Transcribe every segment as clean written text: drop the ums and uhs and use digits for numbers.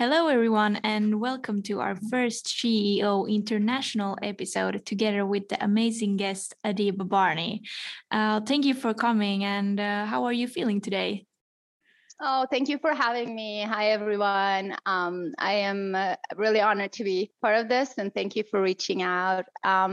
Hello, everyone, and welcome to our first CEO International episode together with the amazing guest, Adiba Barney. Thank you for coming, and how are you feeling today? Oh, thank you for having me. Hi, everyone. I am really honored to be part of this, and thank you for reaching out.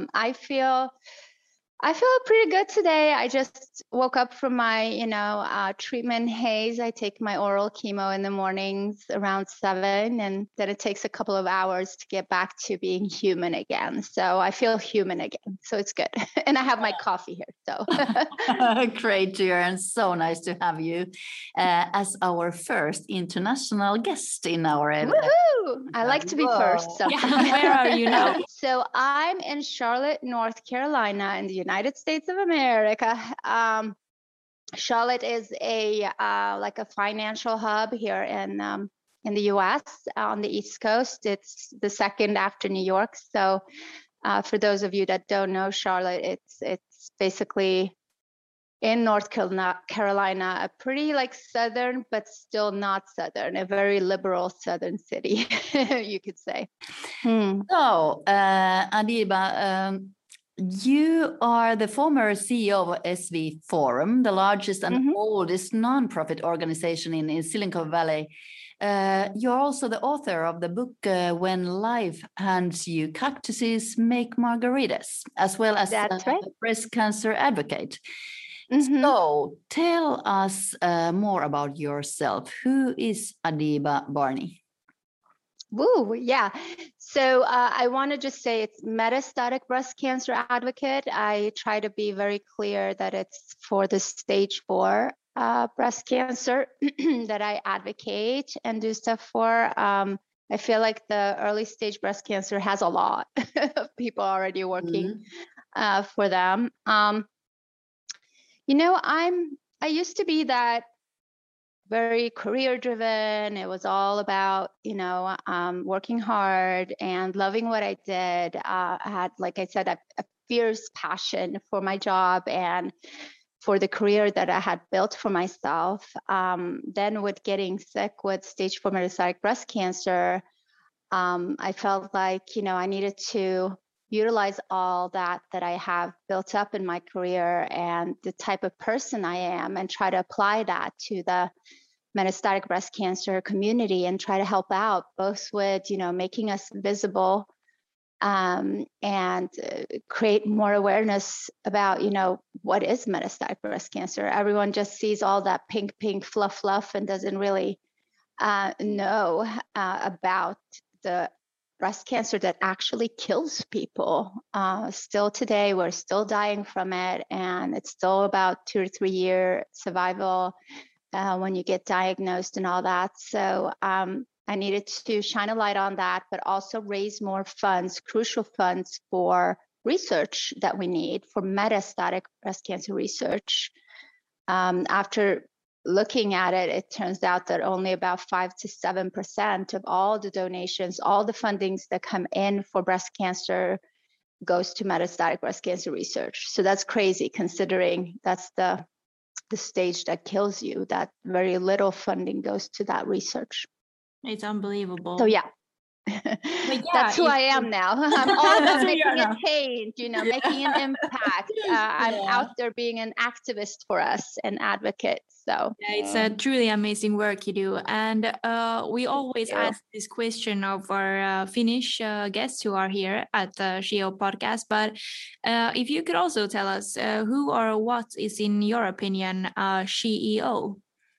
I feel pretty good today. I just woke up from my, treatment haze. I take my oral chemo in the mornings around 7, and then it takes a couple of hours to get back to being human again. So I feel human again. So it's good. And I have my coffee here. So great to hear, and so nice to have you as our first international guest in our event. Woohoo! I like to be first. So. Yeah, where are you now? So I'm in Charlotte, North Carolina, in the United States of America. Charlotte is like a financial hub here in the U.S. on the East Coast. It's the second after New York. So for those of you that don't know Charlotte, it's basically in North Carolina, a pretty like southern, but still not southern, a very liberal southern city, you could say. So, Adiba, you are the former CEO of SV Forum, the largest and oldest nonprofit organization in Silicon Valley. You're also the author of the book When Life Hands You Cactuses Make Margaritas, as well as That's right. breast cancer advocate. So tell us more about yourself. Who is Adiba Barney? Woo, yeah. So I want to just say it's metastatic breast cancer advocate. I try to be very clear that it's for the stage 4 breast cancer that I advocate and do stuff for. I feel like the early stage breast cancer has a lot of people already working for them. I used to be that very career driven. It was all about, working hard and loving what I did. I had, like I said, a fierce passion for my job and for the career that I had built for myself. Then with getting sick with stage 4 metastatic breast cancer, I felt like, I needed to utilize all that I have built up in my career and the type of person I am and try to apply that to the metastatic breast cancer community and try to help out both with, making us visible and create more awareness about, what is metastatic breast cancer. Everyone just sees all that pink fluff and doesn't really know about the breast cancer that actually kills people. Still today, we're still dying from it, and it's still about 2 or 3 year survival when you get diagnosed and all that. So I needed to shine a light on that, but also raise more funds, crucial funds for research that we need for metastatic breast cancer research. After looking at it, it turns out that only about 5 to 7% of all the donations, all the fundings that come in for breast cancer goes to metastatic breast cancer research. So that's crazy considering that's the stage that kills you, that very little funding goes to that research. It's unbelievable. So yeah. That's who I am now. I'm all about making a change, making an impact. I'm out there being an activist for us, an advocate. So yeah, it's a truly amazing work you do. And we always ask this question of our Finnish guests who are here at the CEO podcast. But if you could also tell us who or what is, in your opinion, CEO?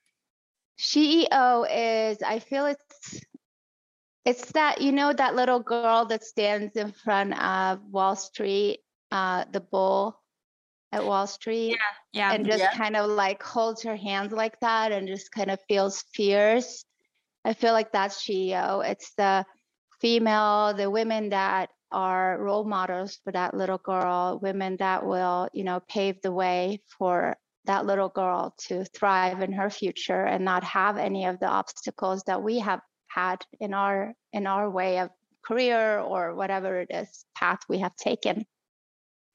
CEO is, I feel it's that, that little girl that stands in front of Wall Street, the bull at Wall Street, and just kind of like holds her hands like that and just kind of feels fierce. I feel like that's CEO. It's the female, the women that are role models for that little girl, women that will, pave the way for that little girl to thrive in her future and not have any of the obstacles that we have had in our way of career or whatever it is path we have taken.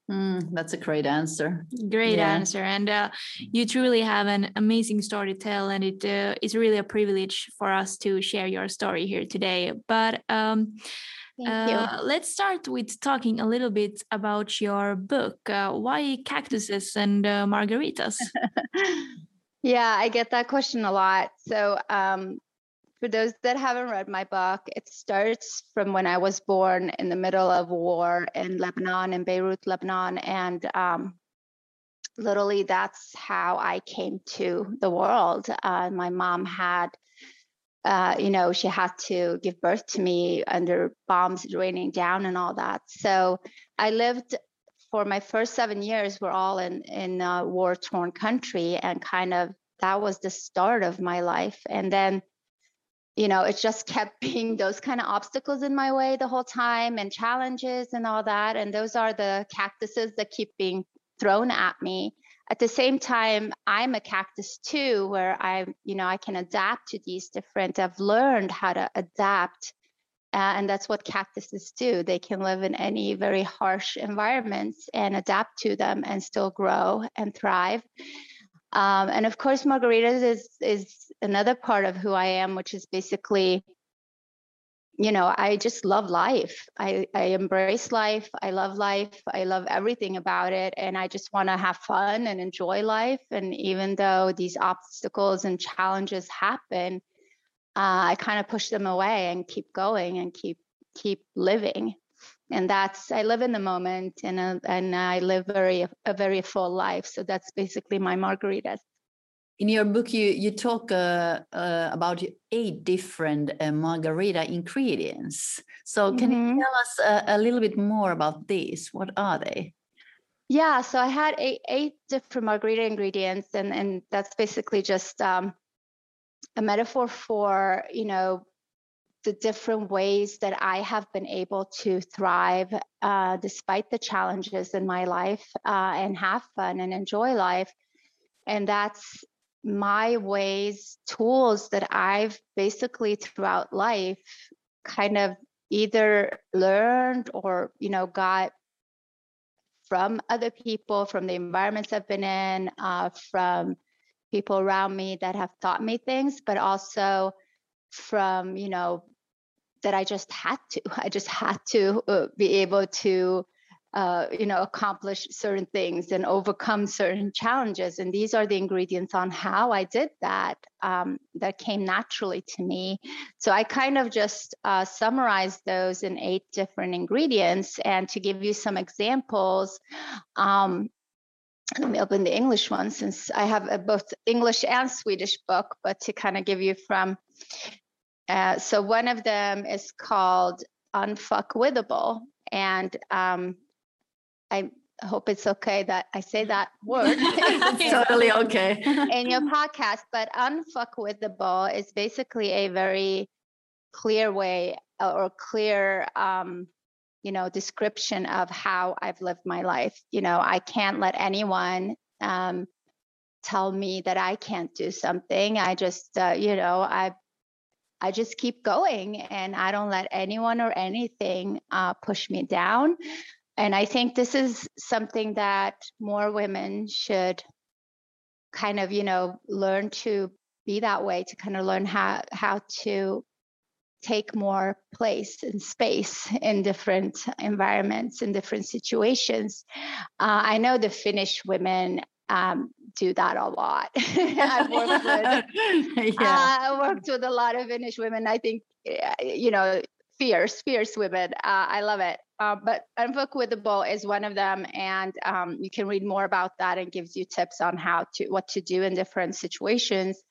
That's a great answer. Great answer. And you truly have an amazing story to tell. And it is really a privilege for us to share your story here today. But let's start with talking a little bit about your book. Why cactuses and margaritas? Yeah, I get that question a lot. So for those that haven't read my book, it starts from when I was born in the middle of war in Lebanon, in Beirut, Lebanon. And literally, that's how I came to the world. My mom had, she had to give birth to me under bombs raining down and all that. So I lived for my first 7 years, we're all in a war-torn country. And kind of that was the start of my life. And then it just kept being those kind of obstacles in my way the whole time and challenges and all that. And those are the cactuses that keep being thrown at me. At the same time, I'm a cactus too, where I can adapt to these different, I've learned how to adapt. And that's what cactuses do. They can live in any very harsh environments and adapt to them and still grow and thrive. And of course, margaritas is another part of who I am, which is basically, I just love life. I embrace life. I love life. I love everything about it. And I just want to have fun and enjoy life. And even though these obstacles and challenges happen, I kind of push them away and keep going and keep living. And I live in the moment, and I live a very full life. So that's basically my margaritas. In your book, you talk about 8 different margarita ingredients. So can you tell us a little bit more about these? What are they? Yeah, so I had eight different margarita ingredients, and that's basically just a metaphor for, the different ways that I have been able to thrive despite the challenges in my life and have fun and enjoy life. And that's my ways, tools that I've basically throughout life kind of either learned or, got from other people, from the environments I've been in, from people around me that have taught me things, but also from, that I just had to be able to, accomplish certain things and overcome certain challenges. And these are the ingredients on how I did that, that came naturally to me. So I kind of just summarized those in 8 different ingredients. And to give you some examples, let me open the English one since I have both English and Swedish book, but to kind of give you from, so one of them is called Unfuckwithable. And I hope it's okay that I say that word. It's totally okay. In your podcast, but Unfuckwithable is basically a very clear way or clear, description of how I've lived my life. I can't let anyone tell me that I can't do something. I just, I just keep going, and I don't let anyone or anything push me down. And I think this is something that more women should kind of, learn to be that way, to kind of learn how to take more place and space in different environments, in different situations. I know the Finnish women do that a lot. I've worked with a lot of Finnish women. I think, fierce women. I love it. But Unfuckwithable is one of them, and you can read more about that, and gives you tips on what to do in different situations.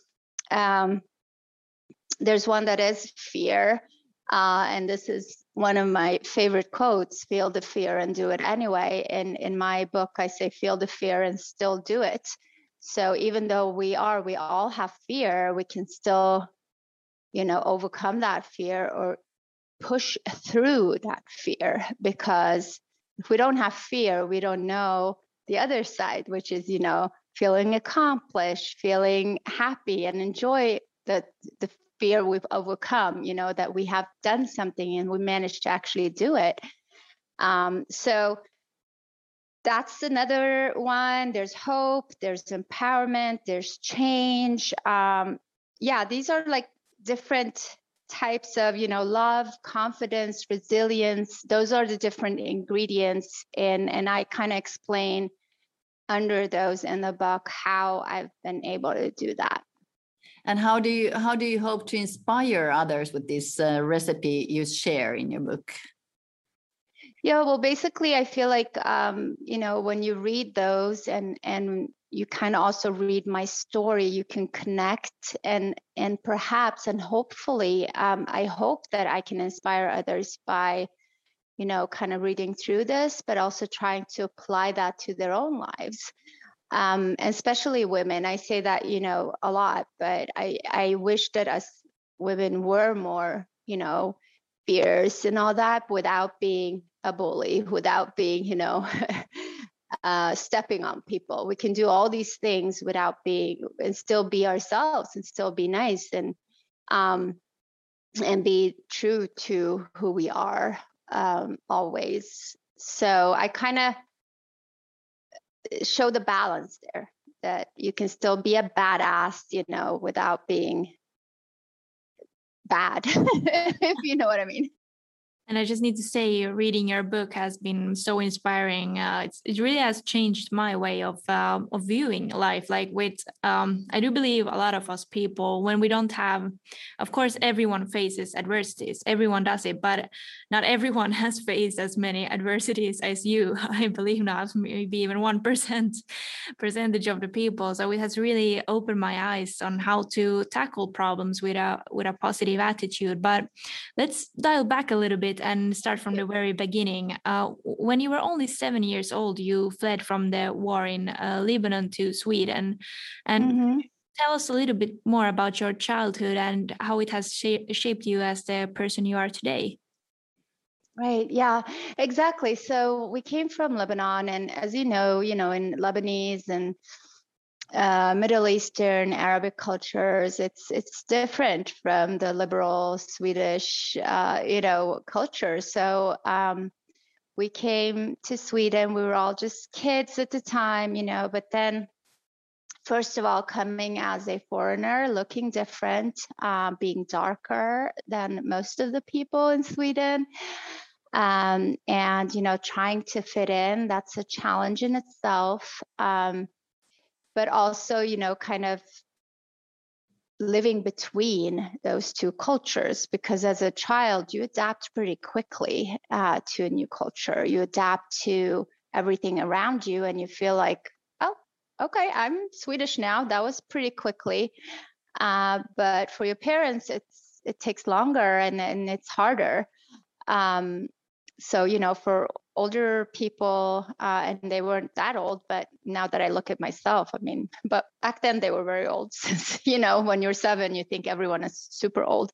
There's one that is fear, and this is one of my favorite quotes: "Feel the fear and do it anyway." And in my book, I say, "Feel the fear and still do it." So even though we all have fear, we can still, overcome that fear or push through that fear, because if we don't have fear, we don't know the other side, which is, feeling accomplished, feeling happy, and enjoy the fear we've overcome, that we have done something and we managed to actually do it. So that's another one. There's hope, there's empowerment, there's change. Yeah, these are like different types of, love, confidence, resilience. Those are the different ingredients. And I kind of explain under those in the book how I've been able to do that. And how do you hope to inspire others with this recipe you share in your book? Yeah, well, basically, I feel like, when you read those and you kind of also read my story, you can connect and perhaps and hopefully, I hope that I can inspire others by, kind of reading through this, but also trying to apply that to their own lives. Especially women. I say that, a lot, but I wish that us women were more, fierce and all that without being a bully, without being, stepping on people. We can do all these things without being, and still be ourselves and still be nice and be true to who we are always. So I kind of show the balance there, that you can still be a badass, without being bad, if you know what I mean. And I just need to say, reading your book has been so inspiring. It really has changed my way of viewing life. Like I do believe a lot of us people, when we don't have, of course, everyone faces adversities. Everyone does it, but not everyone has faced as many adversities as you. I believe not, maybe even 1% percentage of the people. So it has really opened my eyes on how to tackle problems with a positive attitude. But let's dial back a little bit and start from the very beginning. When you were only 7 years old, you fled from the war in Lebanon to Sweden. And tell us a little bit more about your childhood and how it has shaped you as the person you are today. Right. Yeah, exactly. So we came from Lebanon, and as you know, in Lebanese and Middle Eastern Arabic cultures, it's different from the liberal Swedish, culture. So we came to Sweden. We were all just kids at the time, but then first of all, coming as a foreigner, looking different, being darker than most of the people in Sweden. And, trying to fit in, that's a challenge in itself. But also, kind of living between those two cultures, because as a child, you adapt pretty quickly to a new culture. You adapt to everything around you and you feel like, oh, okay, I'm Swedish now. That was pretty quickly. But for your parents, it takes longer and it's harder. So, for older people, and they weren't that old, but now that I look at myself, I mean, but back then they were very old. Since, when you're 7, you think everyone is super old.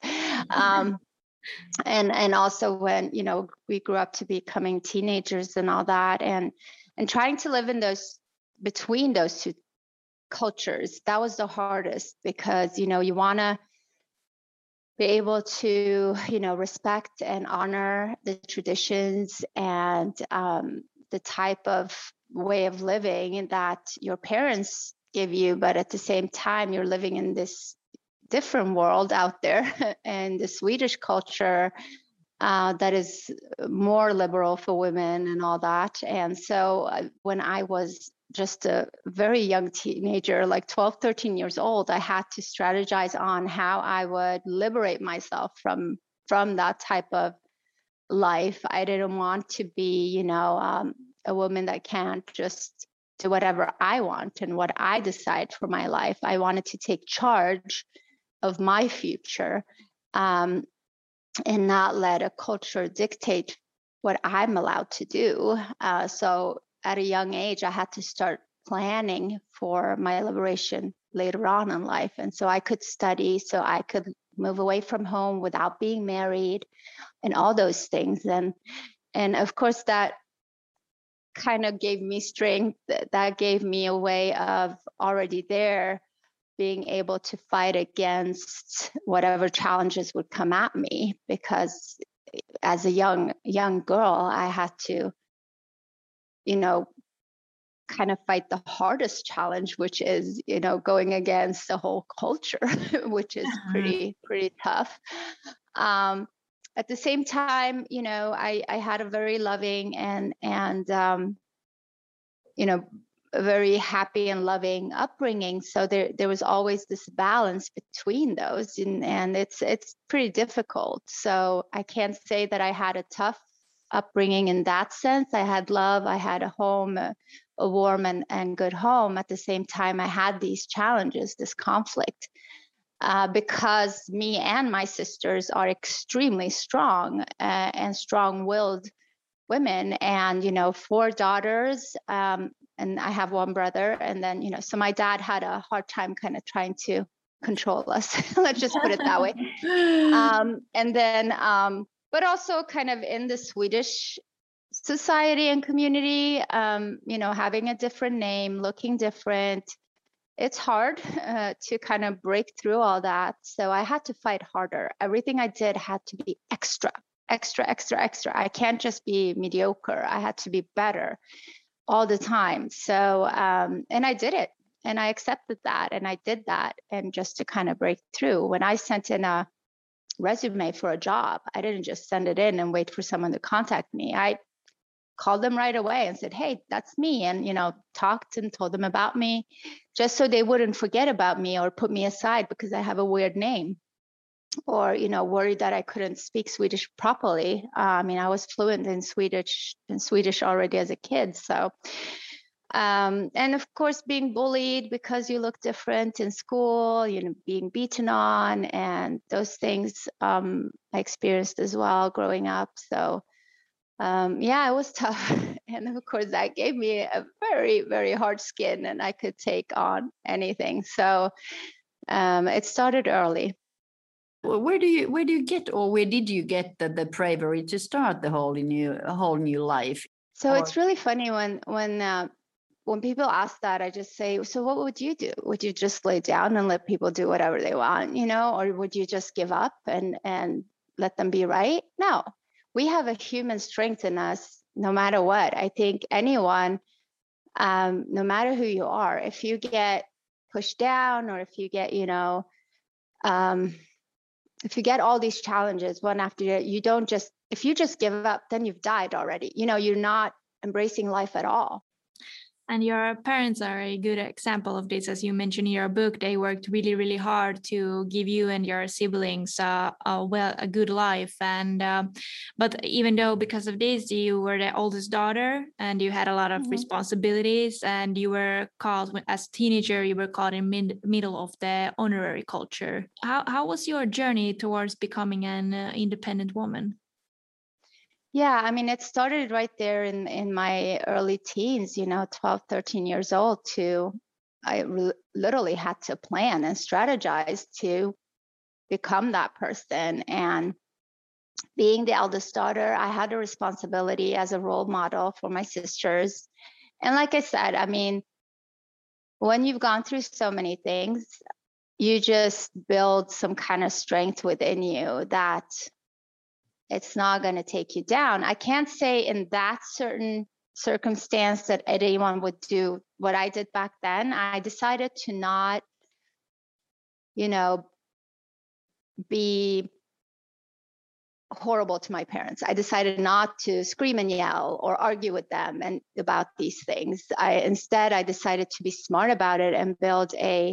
And also when, we grew up to becoming teenagers and all that, and trying to live in between those two cultures, that was the hardest, because, you want to be able to, respect and honor the traditions and the type of way of living that your parents give you, but at the same time, you're living in this different world out there, and the Swedish culture that is more liberal for women and all that. And so when I was just a very young teenager, like 12, 13 years old, I had to strategize on how I would liberate myself from that type of life. I didn't want to be, a woman that can't just do whatever I want and what I decide for my life. I wanted to take charge of my future and not let a culture dictate what I'm allowed to do. So at a young age, I had to start planning for my liberation later on in life. And so I could study, so I could move away from home without being married and all those things. And of course, that kind of gave me strength. That gave me a way of already there being able to fight against whatever challenges would come at me, because as a young girl, I had to, kind of fight the hardest challenge, which is, going against the whole culture, which is pretty tough. At the same time, I had a very loving and a very happy and loving upbringing. So there was always this balance between those, and it's pretty difficult. So I can't say that I had a tough upbringing in that sense. I had love, I had a home, a warm and good home. At the same time, I had these challenges, this conflict, because me and my sisters are extremely strong and strong-willed women, and 4 daughters, and I have 1 brother, and then so my dad had a hard time kind of trying to control us. Let's just put it that way. And then but also kind of in the Swedish society and community, having a different name, looking different, it's hard to kind of break through all that. So I had to fight harder. Everything I did had to be extra. I can't just be mediocre. I had to be better all the time. So, and I did it, and I accepted that, and I did that. And just to kind of break through, when I sent in a resume for a job, I didn't just send it in and wait for someone to contact me. I called them right away and said, hey, that's me. And, talked and told them about me, just so they wouldn't forget about me or put me aside because I have a weird name, or, worried that I couldn't speak Swedish properly. I was fluent in Swedish already as a kid. So, and of course, being bullied because you look different in school, being beaten on, and those things I experienced as well growing up. So, it was tough. And of course, that gave me a very, very hard skin, and I could take on anything. So it started early. Where did you get the bravery to start the whole new life? So it's really funny when people ask that, I just say, so what would you do? Would you just lay down and let people do whatever they want, or would you just give up and let them be right? No, we have a human strength in us, no matter what. I think anyone, no matter who you are, if you get pushed down, or if you get, if you get all these challenges one after the other, if you just give up, then you've died already. You're not embracing life at all. And your parents are a good example of this. As you mentioned in your book, they worked really, really hard to give you and your siblings a good life. And but even though because of this, you were the oldest daughter and you had a lot of responsibilities, and you were called, as a teenager, you were caught in middle of the honorary culture. How was your journey towards becoming an independent woman? Yeah, it started right there in my early teens, 12, 13 years old. I literally had to plan and strategize to become that person. And being the eldest daughter, I had a responsibility as a role model for my sisters. And like I said, when you've gone through so many things, you just build some kind of strength within you that it's not going to take you down. I can't say in that certain circumstance that anyone would do what I did back then. I decided to not, be horrible to my parents. I decided not to scream and yell or argue with them and about these things. Instead, I decided to be smart about it and build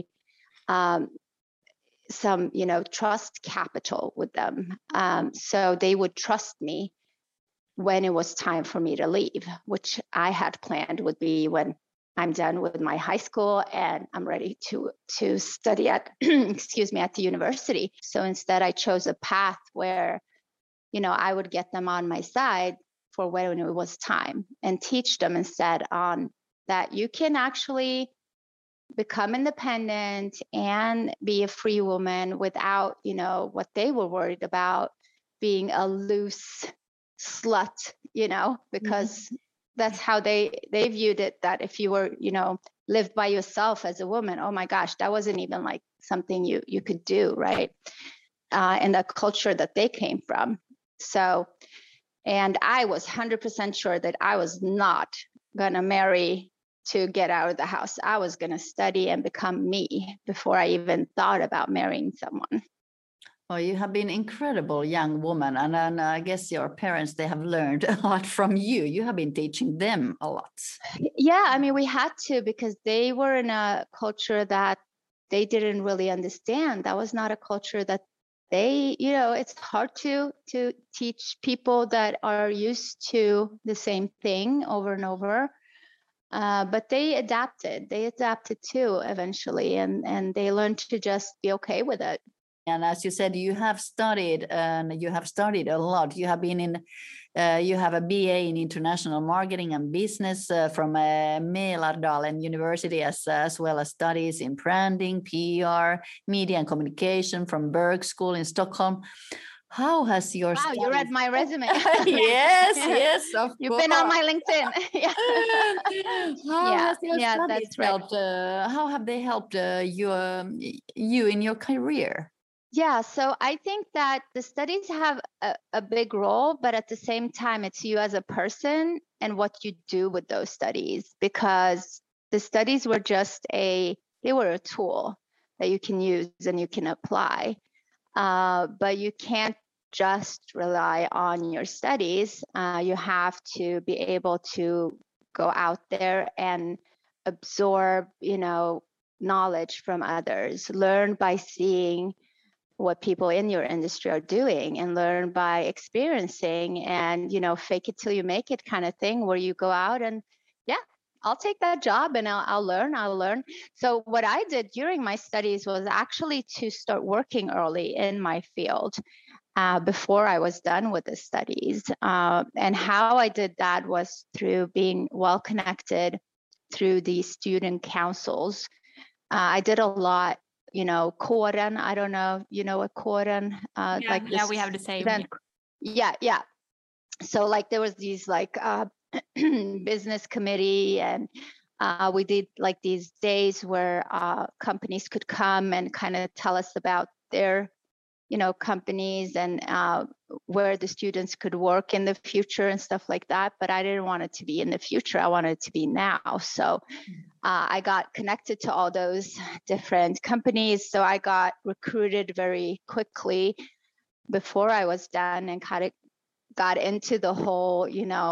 some trust capital with them, so they would trust me when it was time for me to leave, which I had planned would be when I'm done with my high school and I'm ready to study at at the university. So instead, I chose a path where I would get them on my side for when it was time, and teach them instead on that you can actually become independent and be a free woman without, what they were worried about, being a loose slut, because that's how they viewed it, that if you were, lived by yourself as a woman, oh my gosh, that wasn't even like something you could do, right? In the culture that they came from. So, and I was 100% sure that I was not gonna marry to get out of the house. I was going to study and become me before I even thought about marrying someone. Oh, you have been incredible young woman, and then I guess your parents, they have learned a lot from you. You have been teaching them a lot. Yeah, I mean, we had to, because they were in a culture that they didn't really understand. That was not a culture that they, it's hard to teach people that are used to the same thing over and over. But they adapted. They adapted too eventually, and they learned to just be okay with it. And as you said, you have studied, and you have studied a lot. You have been in, you have a BA in international marketing and business from Mälardalen University, as well as studies in branding, PR, media and communication from Berg School in Stockholm. How has your Wow, studies... you read my resume. Yes, of You've course. been on my LinkedIn. How has your studies that's right. helped? How have they helped you in your career? Yeah, so I think that the studies have a big role, but at the same time, it's you as a person and what you do with those studies, because the studies were they were a tool that you can use and you can apply. But you can't just rely on your studies. You have to be able to go out there and absorb, knowledge from others, learn by seeing what people in your industry are doing, and learn by experiencing, and fake it till you make it kind of thing, where you go out and I'll take that job and I'll learn. So what I did during my studies was actually to start working early in my field before I was done with the studies. And how I did that was through being well connected through the student councils. I did a lot, kåren. I don't know, what kåren, we have the same. Yeah. So like there was these like business committee, and we did like these days where companies could come and kind of tell us about their companies and where the students could work in the future and stuff like that. But I didn't want it to be in the future. I wanted it to be now. So I got connected to all those different companies. So I got recruited very quickly before I was done, and kind of got into the whole,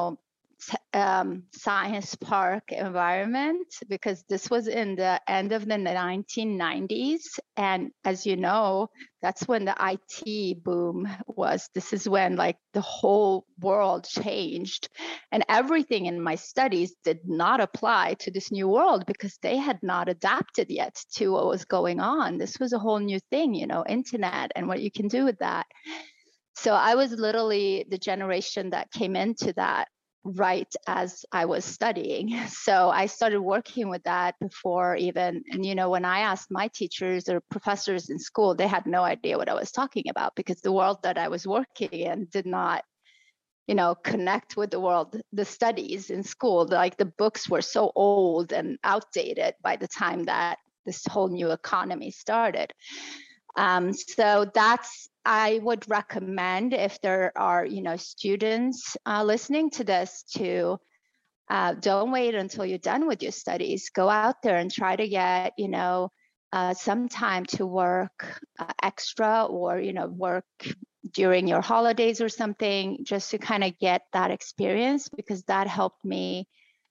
science park environment, because this was in the end of the 1990s. And as you know, that's when the IT boom was. This is when like the whole world changed, and everything in my studies did not apply to this new world, because they had not adapted yet to what was going on. This was a whole new thing, internet and what you can do with that. So I was literally the generation that came into that right as I was studying. So I started working with that before even, and when I asked my teachers or professors in school, they had no idea what I was talking about, because the world that I was working in did not, connect with the world, the studies in school. Like the books were so old and outdated by the time that this whole new economy started. So I would recommend, if there are, students listening to this, to don't wait until you're done with your studies. Go out there and try to get, some time to work extra, or, work during your holidays or something, just to kind of get that experience, because that helped me,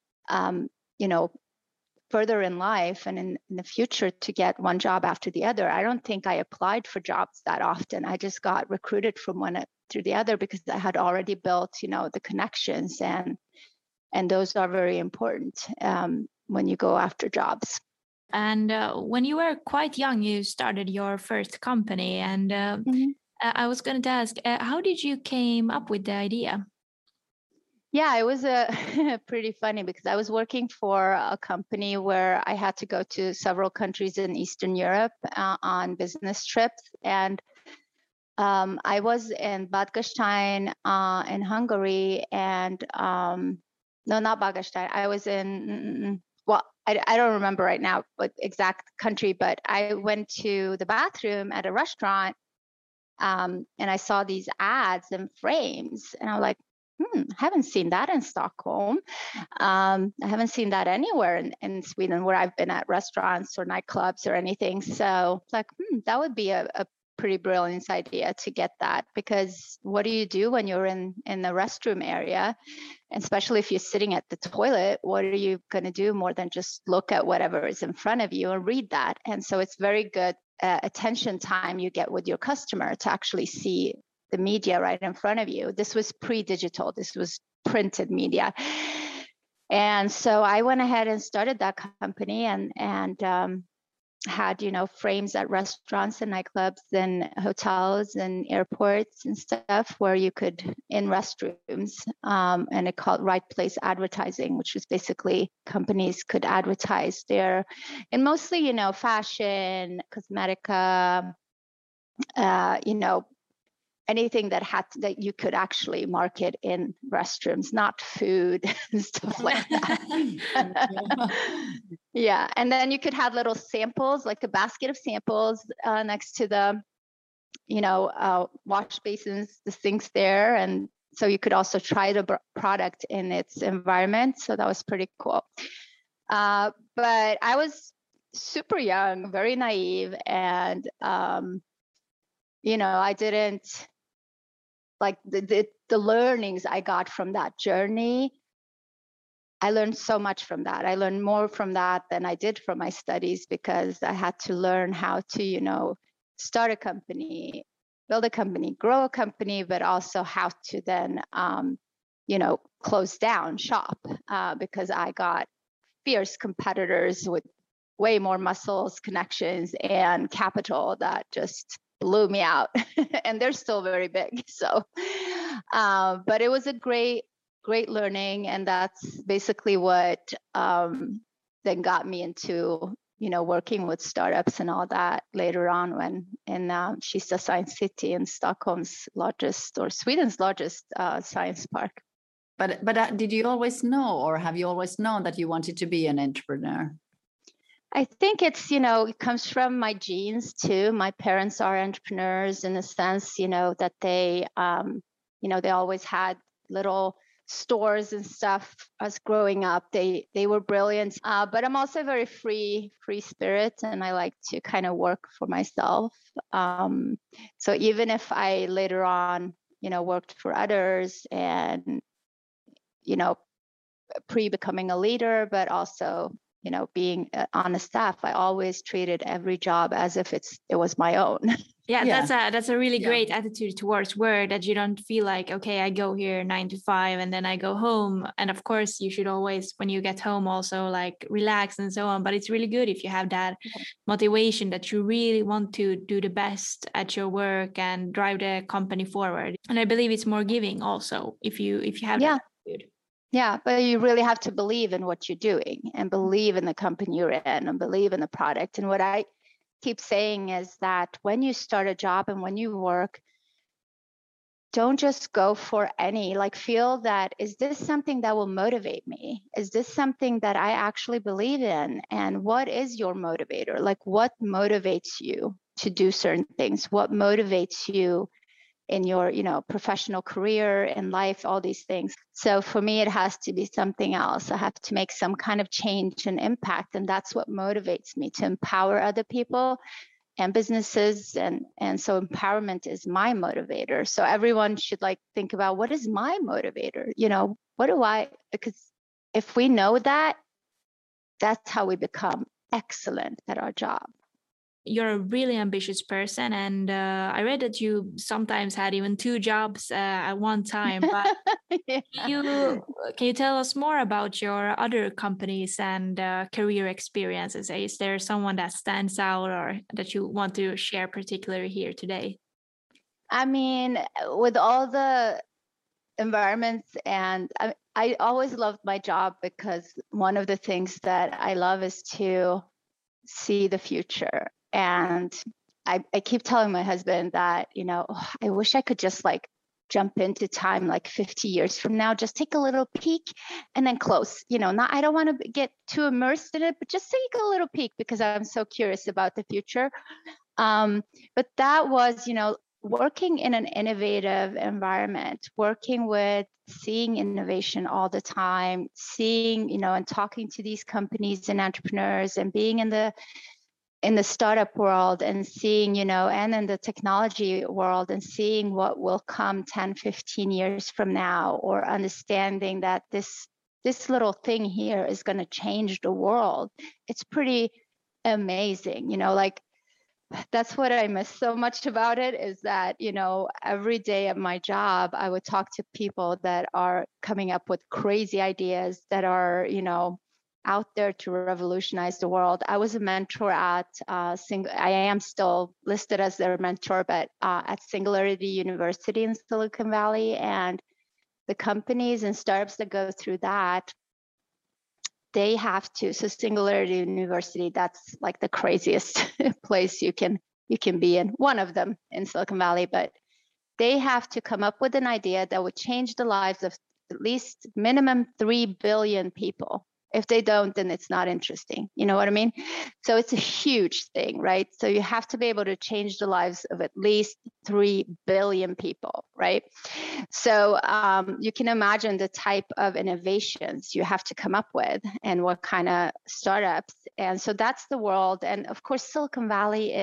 further in life and in the future, to get one job after the other. I don't think I applied for jobs that often. I just got recruited from one through the other, because I had already built, the connections, and those are very important when you go after jobs. And when you were quite young, you started your first company, and I was going to ask, how did you came up with the idea? Yeah, it was pretty funny, because I was working for a company where I had to go to several countries in Eastern Europe on business trips. And I was in Bad Gastein in Hungary, and no, not Bad Gastein. I was in, I don't remember right now what exact country, but I went to the bathroom at a restaurant, and I saw these ads and frames, and I'm like, haven't seen that in Stockholm. I haven't seen that anywhere in Sweden where I've been at restaurants or nightclubs or anything. So like, that would be a pretty brilliant idea to get that, because what do you do when you're in the restroom area? And especially if you're sitting at the toilet, what are you going to do more than just look at whatever is in front of you and read that? And so it's very good attention time you get with your customer to actually see the media right in front of you. This was pre-digital. This was printed media. And so I went ahead and started that company and had, frames at restaurants and nightclubs and hotels and airports and stuff where you could, in restrooms, and it called Right Place Advertising, which was basically companies could advertise there, and mostly, fashion, cosmetica, anything that you could actually market in restrooms, not food and stuff like that. Yeah, and then you could have little samples, like a basket of samples next to the, wash basins, the sinks there, and so you could also try the product in its environment. So that was pretty cool. But I was super young, very naive, and I didn't. Like the learnings I got from that journey, I learned so much from that. I learned more from that than I did from my studies, because I had to learn how to, start a company, build a company, grow a company, but also how to then, close down shop, because I got fierce competitors with way more muscles, connections, and capital that just blew me out. And they're still very big. So, but it was a great learning. And that's basically what then got me into, working with startups and all that later on when in Kista Science City in Stockholm's largest, or Sweden's largest science park. But did you always know, or have you always known that you wanted to be an entrepreneur? I think it's, it comes from my genes too. My parents are entrepreneurs in the sense, that they, they always had little stores and stuff. Us growing up, they were brilliant. But I'm also very free spirit, and I like to kind of work for myself. So even if I later on, worked for others and, pre-becoming a leader, but also being on a staff, I always treated every job as if it was my own. Yeah, that's a really great attitude towards work, that you don't feel like, okay, I go here 9 to 5 and then I go home. And of course, you should always, when you get home, also like relax and so on. But it's really good if you have that motivation that you really want to do the best at your work and drive the company forward. And I believe it's more giving also if you have that attitude. Yeah, but you really have to believe in what you're doing and believe in the company you're in and believe in the product. And what I keep saying is that when you start a job and when you work, don't just go for feel that, is this something that will motivate me? Is this something that I actually believe in? And what is your motivator? Like, what motivates you to do certain things? What motivates you in your, professional career, in life, all these things. So for me, it has to be something else. I have to make some kind of change and impact. And that's what motivates me, to empower other people and businesses. And so empowerment is my motivator. So everyone should think about, what is my motivator? Because if we know that, that's how we become excellent at our job. You're a really ambitious person, and I read that you sometimes had even 2 jobs at one time. But can you tell us more about your other companies and career experiences? Is there someone that stands out or that you want to share particularly here today? I mean, with all the environments, and I always loved my job, because one of the things that I love is to see the future. And I keep telling my husband that, I wish I could just jump into time 50 years from now, just take a little peek and then close, I don't want to get too immersed in it, but just take a little peek because I'm so curious about the future. But that was, working in an innovative environment, working with seeing innovation all the time, seeing, and talking to these companies and entrepreneurs, and being in the startup world and seeing, and in the technology world and seeing what will come 10, 15 years from now, or understanding that this little thing here is going to change the world. It's pretty amazing, like that's what I miss so much about it, is that, every day at my job, I would talk to people that are coming up with crazy ideas that are, out there to revolutionize the world. I was a mentor at I am still listed as their mentor, but at Singularity University in Silicon Valley, and the companies and startups that go through that, they have to. So Singularity University, that's like the craziest place you can be in, one of them in Silicon Valley, but they have to come up with an idea that would change the lives of at least minimum 3 billion people. If they don't, then it's not interesting. You know what I mean? So it's a huge thing, right? So you have to be able to change the lives of at least 3 billion people, right? So you can imagine the type of innovations you have to come up with and what kind of startups. And so that's the world. And of course, Silicon Valley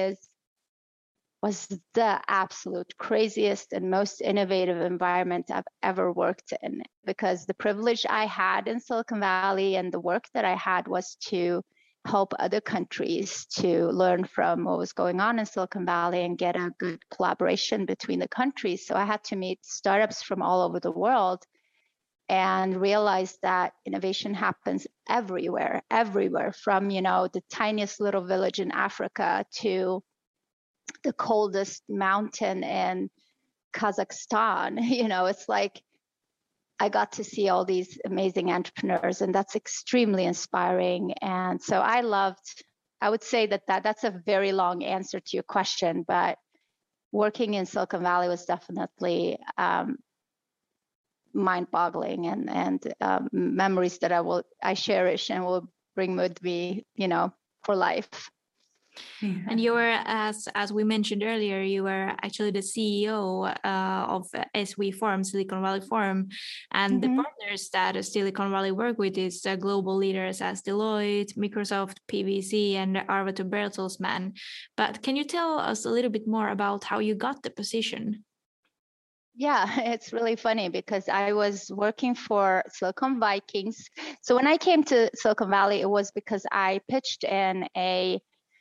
was the absolute craziest and most innovative environment I've ever worked in, because the privilege I had in Silicon Valley and the work that I had was to help other countries to learn from what was going on in Silicon Valley and get a good collaboration between the countries. So I had to meet startups from all over the world and realize that innovation happens everywhere, from, the tiniest little village in Africa to the coldest mountain in Kazakhstan. It's like I got to see all these amazing entrepreneurs, and that's extremely inspiring. And so I would say that's a very long answer to your question, but working in Silicon Valley was definitely mind-boggling, and memories that I cherish and will bring with me, for life. And you were, as we mentioned earlier, you were actually the CEO of SV Forum, Silicon Valley Forum, and the partners that Silicon Valley work with is global leaders as Deloitte, Microsoft, PwC, and Arvato Bertelsmann. But can you tell us a little bit more about how you got the position? Yeah, it's really funny because I was working for Silicon Vikings. So when I came to Silicon Valley, it was because I pitched in a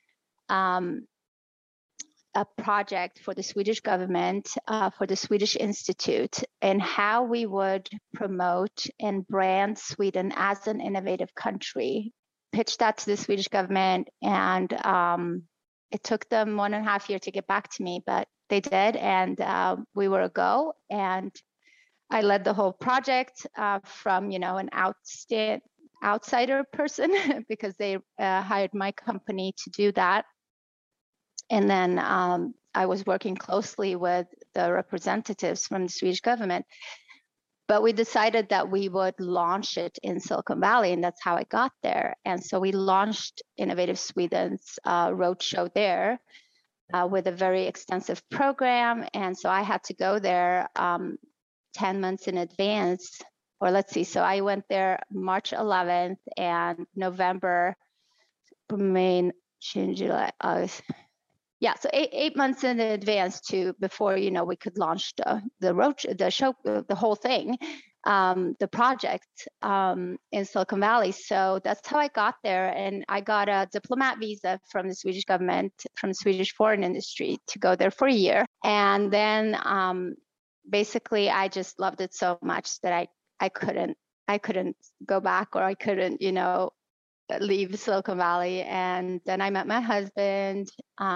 project for the Swedish government, for the Swedish Institute, and how we would promote and brand Sweden as an innovative country. Pitched that to the Swedish government, and it took them 1.5 years to get back to me, but they did, and we were a go. And I led the whole project from, an outsider person because they hired my company to do that. And then I was working closely with the representatives from the Swedish government. But we decided that we would launch it in Silicon Valley, and that's how I got there. And so we launched Innovative Sweden's roadshow there with a very extensive program. And so I had to go there 10 months in advance, or let's see. So I went there March 11th, and November, May, June, July, August. Yeah, so eight months in advance before we could launch the show, the whole thing, the project in Silicon Valley. So that's how I got there, and I got a diplomat visa from the Swedish government, from the Swedish foreign industry, to go there for a year. And then basically I just loved it so much that I couldn't go back, or I couldn't leave Silicon Valley. And then I met my husband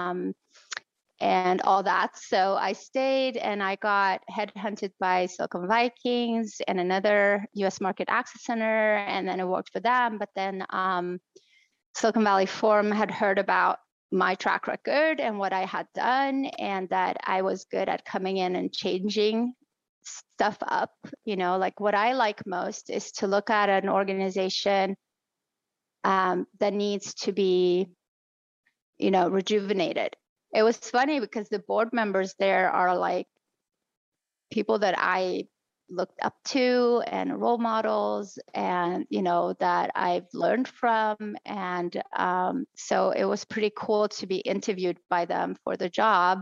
and all that. So I stayed, and I got headhunted by Silicon Vikings and another US Market Access Center, and then I worked for them. But then Silicon Valley Forum had heard about my track record and what I had done, and that I was good at coming in and changing stuff up. Like what I like most is to look at an organization that needs to be, rejuvenated, it was funny because the board members there are like people that I looked up to and role models, and that I've learned from, and so it was pretty cool to be interviewed by them for the job,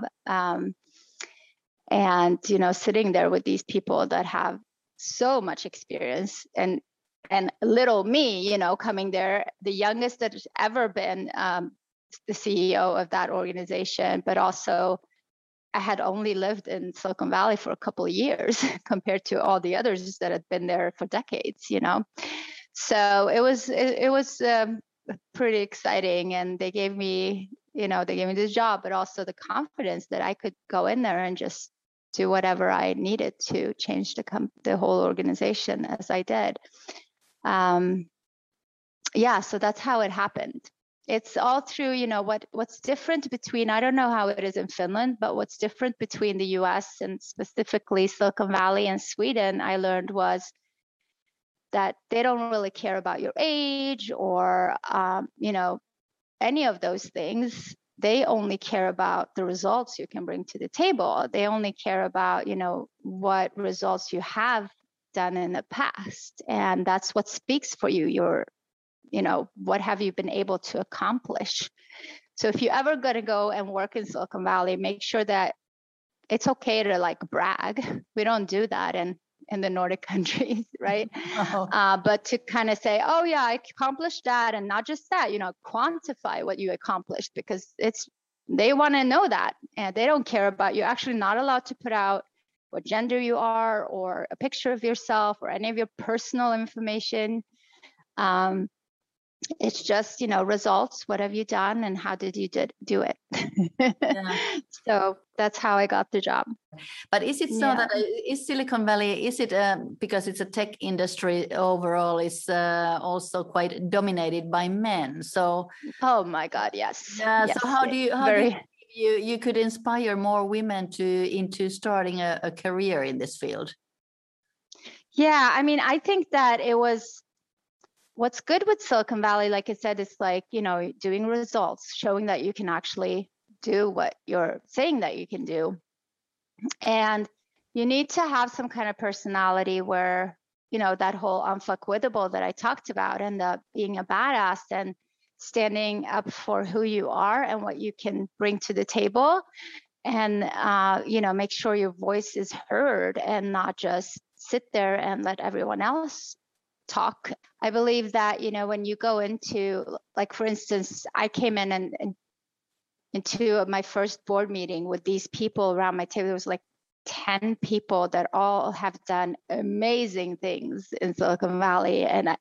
and sitting there with these people that have so much experience, and little me, coming there, the youngest that has ever been the CEO of that organization, but also I had only lived in Silicon Valley for a couple of years compared to all the others that had been there for decades, So it was pretty exciting, and they gave me this job, but also the confidence that I could go in there and just do whatever I needed to change the whole organization, as I did. So that's how it happened. It's all through, what's different between, I don't know how it is in Finland, but what's different between the US and specifically Silicon Valley and Sweden, I learned was that they don't really care about your age or, any of those things. They only care about the results you can bring to the table. They only care about, what results you have done in the past. And that's what speaks for you. What have you been able to accomplish? So if you're ever going to go and work in Silicon Valley, make sure that it's okay to like brag. We don't do that in the Nordic countries, right? But to kind of say, oh yeah, I accomplished that, and not just that, quantify what you accomplished, because they want to know that, and they don't care about you. Actually not allowed to put out what gender you are or a picture of yourself or any of your personal information. It's just, results. What have you done and how did you do it? Yeah. So that's how I got the job. But is it so that is Silicon Valley, is it because it's a tech industry overall, is also quite dominated by men? So oh my God, yes. Yeah. Yes, so how do you could inspire more women into starting a career in this field? Yeah, I mean, I think that it was. What's good with Silicon Valley, like I said, is like, doing results, showing that you can actually do what you're saying that you can do. And you need to have some kind of personality where, that whole unfuckwittable that I talked about, and being a badass and standing up for who you are and what you can bring to the table. And, make sure your voice is heard and not just sit there and let everyone else talk. I believe that, when you go into, like, for instance, I came in and into my first board meeting with these people around my table. There was like 10 people that all have done amazing things in Silicon Valley. And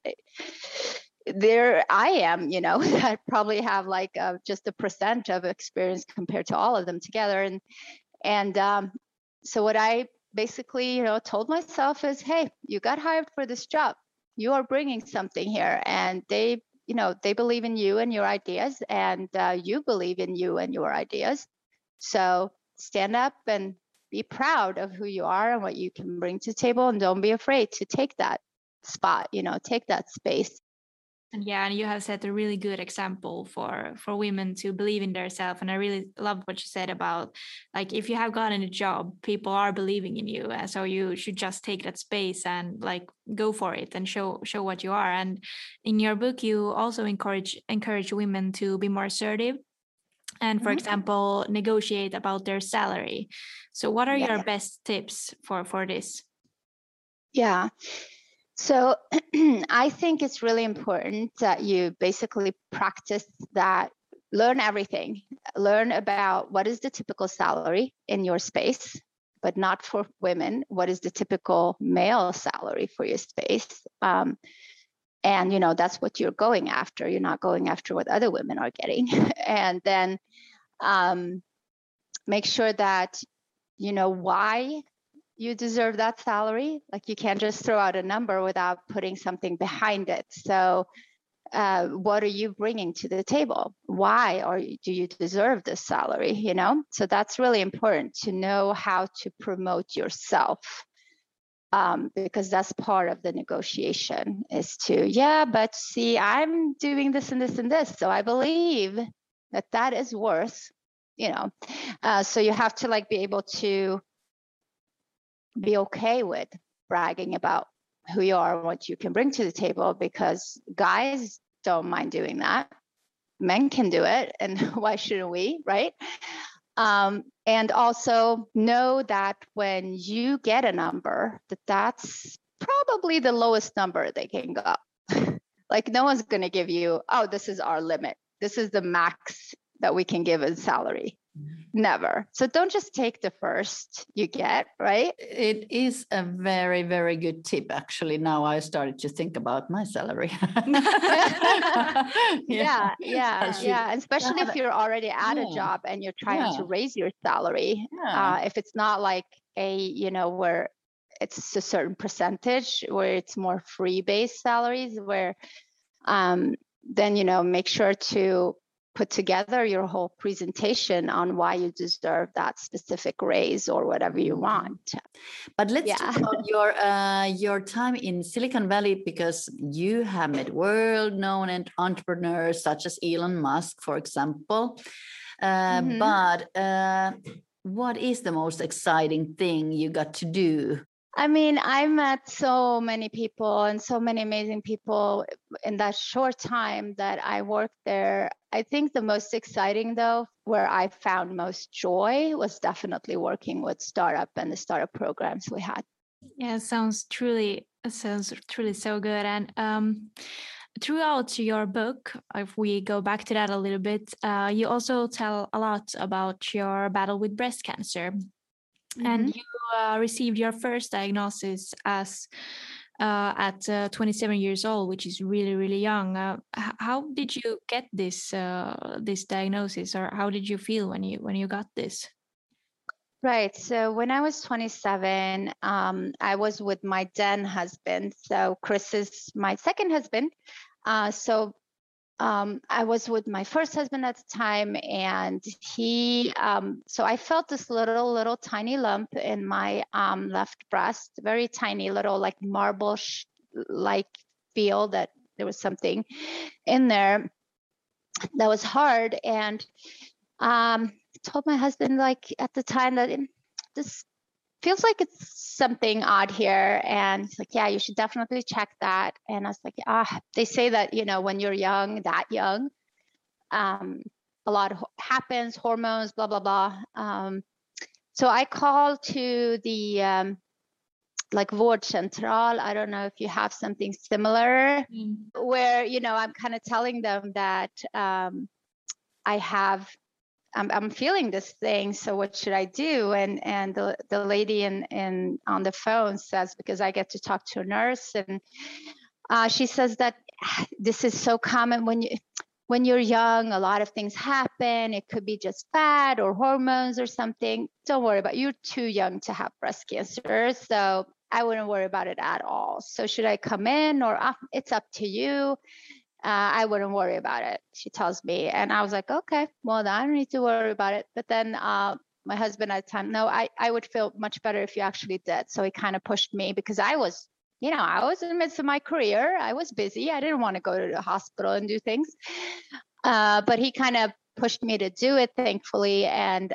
there I am, that probably have like just 1% of experience compared to all of them together. And so what I basically, told myself is, hey, you got hired for this job. You are bringing something here, and they believe in you and your ideas, and you believe in you and your ideas. So stand up and be proud of who you are and what you can bring to the table, and don't be afraid to take that spot, take that space. And you have set a really good example for women to believe in themselves. And I really love what you said about, like, if you have gotten a job, people are believing in you. So you should just take that space and like go for it and show what you are. And in your book, you also encourage women to be more assertive and, for example, negotiate about their salary. So what are your best tips for this? Yeah. So I think it's really important that you basically practice that, learn everything, learn about what is the typical salary in your space, but not for women. What is the typical male salary for your space? And, that's what you're going after. You're not going after what other women are getting. And then make sure that you know why you deserve that salary. Like, you can't just throw out a number without putting something behind it. So what are you bringing to the table? Why do you deserve this salary? So that's really important to know how to promote yourself, because that's part of the negotiation, is to, but see, I'm doing this and this and this. So I believe that is worth So you have to like be able to be okay with bragging about who you are and what you can bring to the table, because guys don't mind doing that. Men can do it, and why shouldn't we, right? And also know that when you get a number, that's probably the lowest number they can go. Like no one's going to give you, oh, this is our limit. This is the max that we can give in salary. Never. So don't just take the first you get, right? It is a very, very good tip. Actually, now I started to think about my salary. Yeah. Especially if you're already at a job and you're trying to raise your salary. If it's not like where it's a certain percentage, where it's more free-based salaries, where then make sure to put together your whole presentation on why you deserve that specific raise or whatever you want. But let's talk about your time in Silicon Valley, because you have met world-known entrepreneurs such as Elon Musk, for example. But what is the most exciting thing you got to do? I mean, I met so many people and so many amazing people in that short time that I worked there. I think the most exciting, though, where I found most joy was definitely working with startup and the startup programs we had. Yeah, it sounds truly so good. And throughout your book, if we go back to that a little bit, you also tell a lot about your battle with breast cancer. And you received your first diagnosis as at 27 years old, which is really, really young. How did you get this diagnosis, or how did you feel when you got this? Right. So when I was 27, I was with my then husband. So Chris is my second husband. I was with my first husband at the time, and so I felt this little tiny lump in my left breast, very tiny little like marble-like feel that there was something in there that was hard. And told my husband like at the time that this feels like it's something odd here. And he's like, yeah, you should definitely check that. And I was like, they say that, when you're young, that young, a lot happens, hormones, blah, blah, blah. So I called to the like Vårdcentral. I don't know if you have something similar where, I'm kind of telling them that I'm feeling this thing, so what should I do? And the lady on the phone says, because I get to talk to a nurse, and she says that this is so common when you're young. A lot of things happen. It could be just fat or hormones or something. Don't worry about it. You're too young to have breast cancer, so I wouldn't worry about it at all. So should I come in, or it's up to you? I wouldn't worry about it, she tells me. And I was like, okay, well, I don't need to worry about it. But then my husband at the time, no, I would feel much better if you actually did. So he kind of pushed me, because I was in the midst of my career. I was busy. I didn't want to go to the hospital and do things. But he kind of pushed me to do it, thankfully. And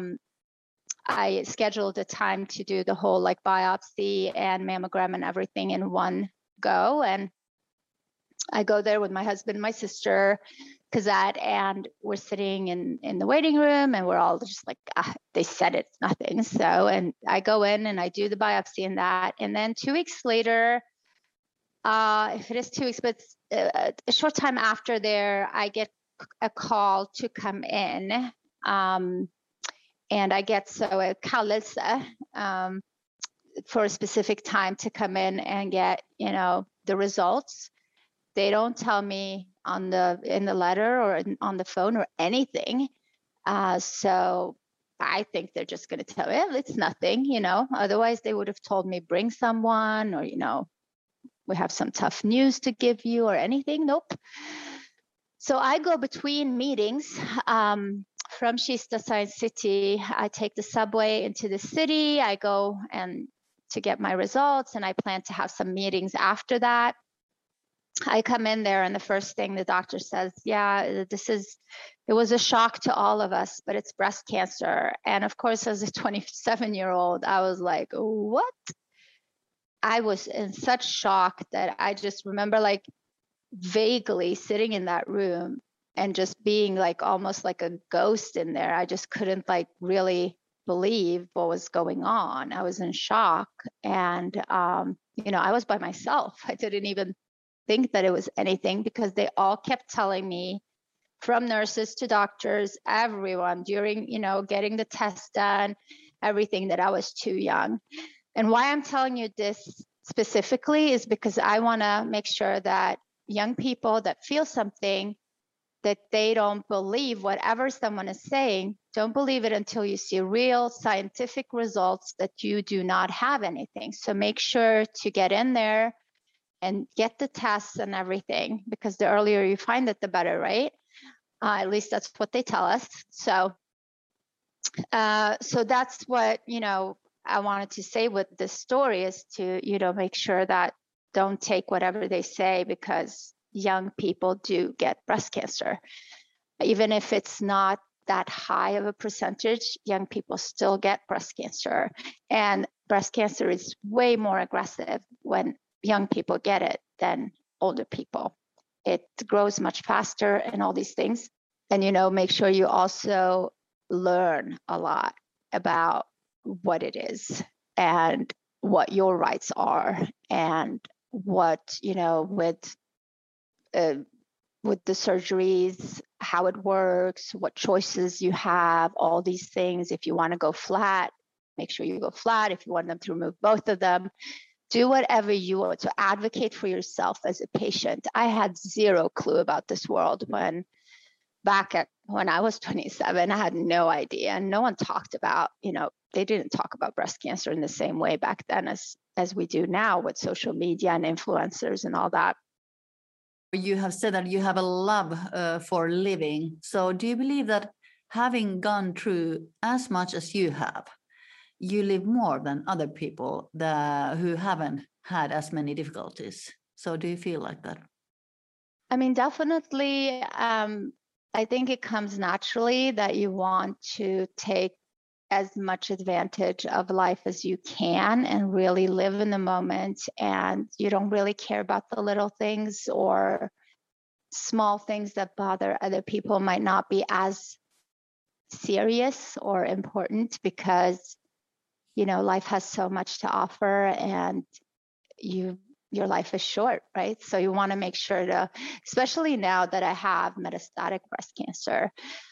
I scheduled a time to do the whole like biopsy and mammogram and everything in one go. And I go there with my husband, my sister, Kazat, and we're sitting in the waiting room, and we're all just like, they said it's nothing. So, and I go in and I do the biopsy and that. And then 2 weeks later, if it is 2 weeks, but a short time after there, I get a call to come in. And I get a kallelse for a specific time to come in and get, the results. They don't tell me in the letter or on the phone or anything. So I think they're just going to tell me it's nothing, Otherwise, they would have told me bring someone, or we have some tough news to give you or anything. Nope. So I go between meetings from Kista Science City. I take the subway into the city. I go and to get my results, and I plan to have some meetings after that. I come in there and the first thing the doctor says, yeah, it was a shock to all of us, but it's breast cancer. And of course, as a 27-year-old, I was like, what? I was in such shock that I just remember like vaguely sitting in that room and just being like almost like a ghost in there. I just couldn't like really believe what was going on. I was in shock. And, I was by myself. I didn't even think that it was anything because they all kept telling me, from nurses to doctors, everyone during, getting the test done, everything, that I was too young. And why I'm telling you this specifically is because I want to make sure that young people that feel something, that they don't believe whatever someone is saying. Don't believe it until you see real scientific results that you do not have anything. So make sure to get in there and get the tests and everything, because the earlier you find it, the better, right? At least that's what they tell us. So that's what, I wanted to say with this story, is to, make sure that don't take whatever they say, because young people do get breast cancer. Even if it's not that high of a percentage, young people still get breast cancer. And breast cancer is way more aggressive when young people get it than older people. It grows much faster and all these things. And, make sure you also learn a lot about what it is and what your rights are, and what, with the surgeries, how it works, what choices you have, all these things. If you want to go flat, make sure you go flat. If you want them to remove both of them, do whatever you want to advocate for yourself as a patient. I had zero clue about this world when I was 27. I had no idea, and no one talked about, they didn't talk about breast cancer in the same way back then as we do now with social media and influencers and all that. You have said that you have a love for living. So do you believe that having gone through as much as you have, you live more than other people who haven't had as many difficulties? So do you feel like that? I mean, definitely. I think it comes naturally that you want to take as much advantage of life as you can and really live in the moment. And you don't really care about the little things or small things that bother other people might not be as serious or important, because, life has so much to offer, and your life is short, right? So you want to make sure to, especially now that I have metastatic breast cancer,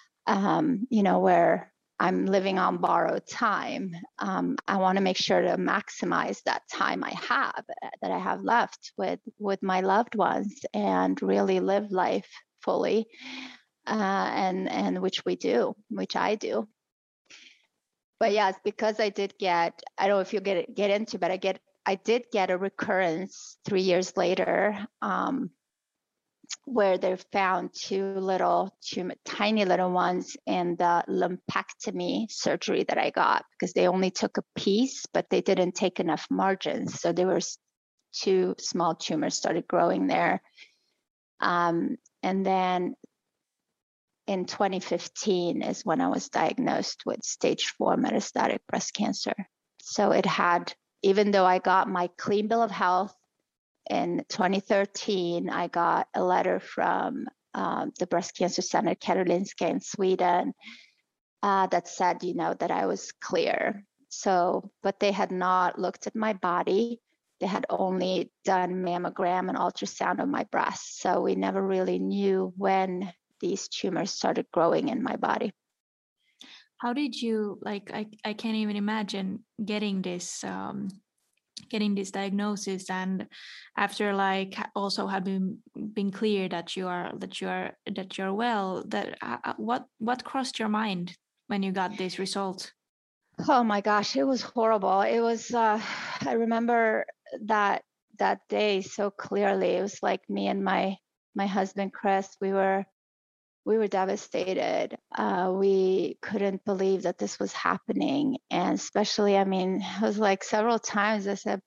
where I'm living on borrowed time. I want to make sure to maximize that time that I have left with my loved ones, and really live life fully, and which I do. But yes, because I did get, I don't know if you'll get into, but I did get a recurrence 3 years later, where they found two little tiny little ones in the lumpectomy surgery that I got, because they only took a piece, but they didn't take enough margins. So there were two small tumors started growing there. And then in 2015 is when I was diagnosed with stage 4 metastatic breast cancer. So even though I got my clean bill of health in 2013, I got a letter from the Breast Cancer Center, Karolinska in Sweden, that said, that I was clear. So, but they had not looked at my body. They had only done mammogram and ultrasound of my breast. So we never really knew when these tumors started growing in my body. How did you, I can't even imagine getting this diagnosis, and after also having been clear that you're well, what crossed your mind when you got this result? Oh my gosh, it was horrible. It was I remember that day so clearly. It was like me and my husband Chris, we were devastated. We couldn't believe that this was happening. And especially, it was like several times I said, but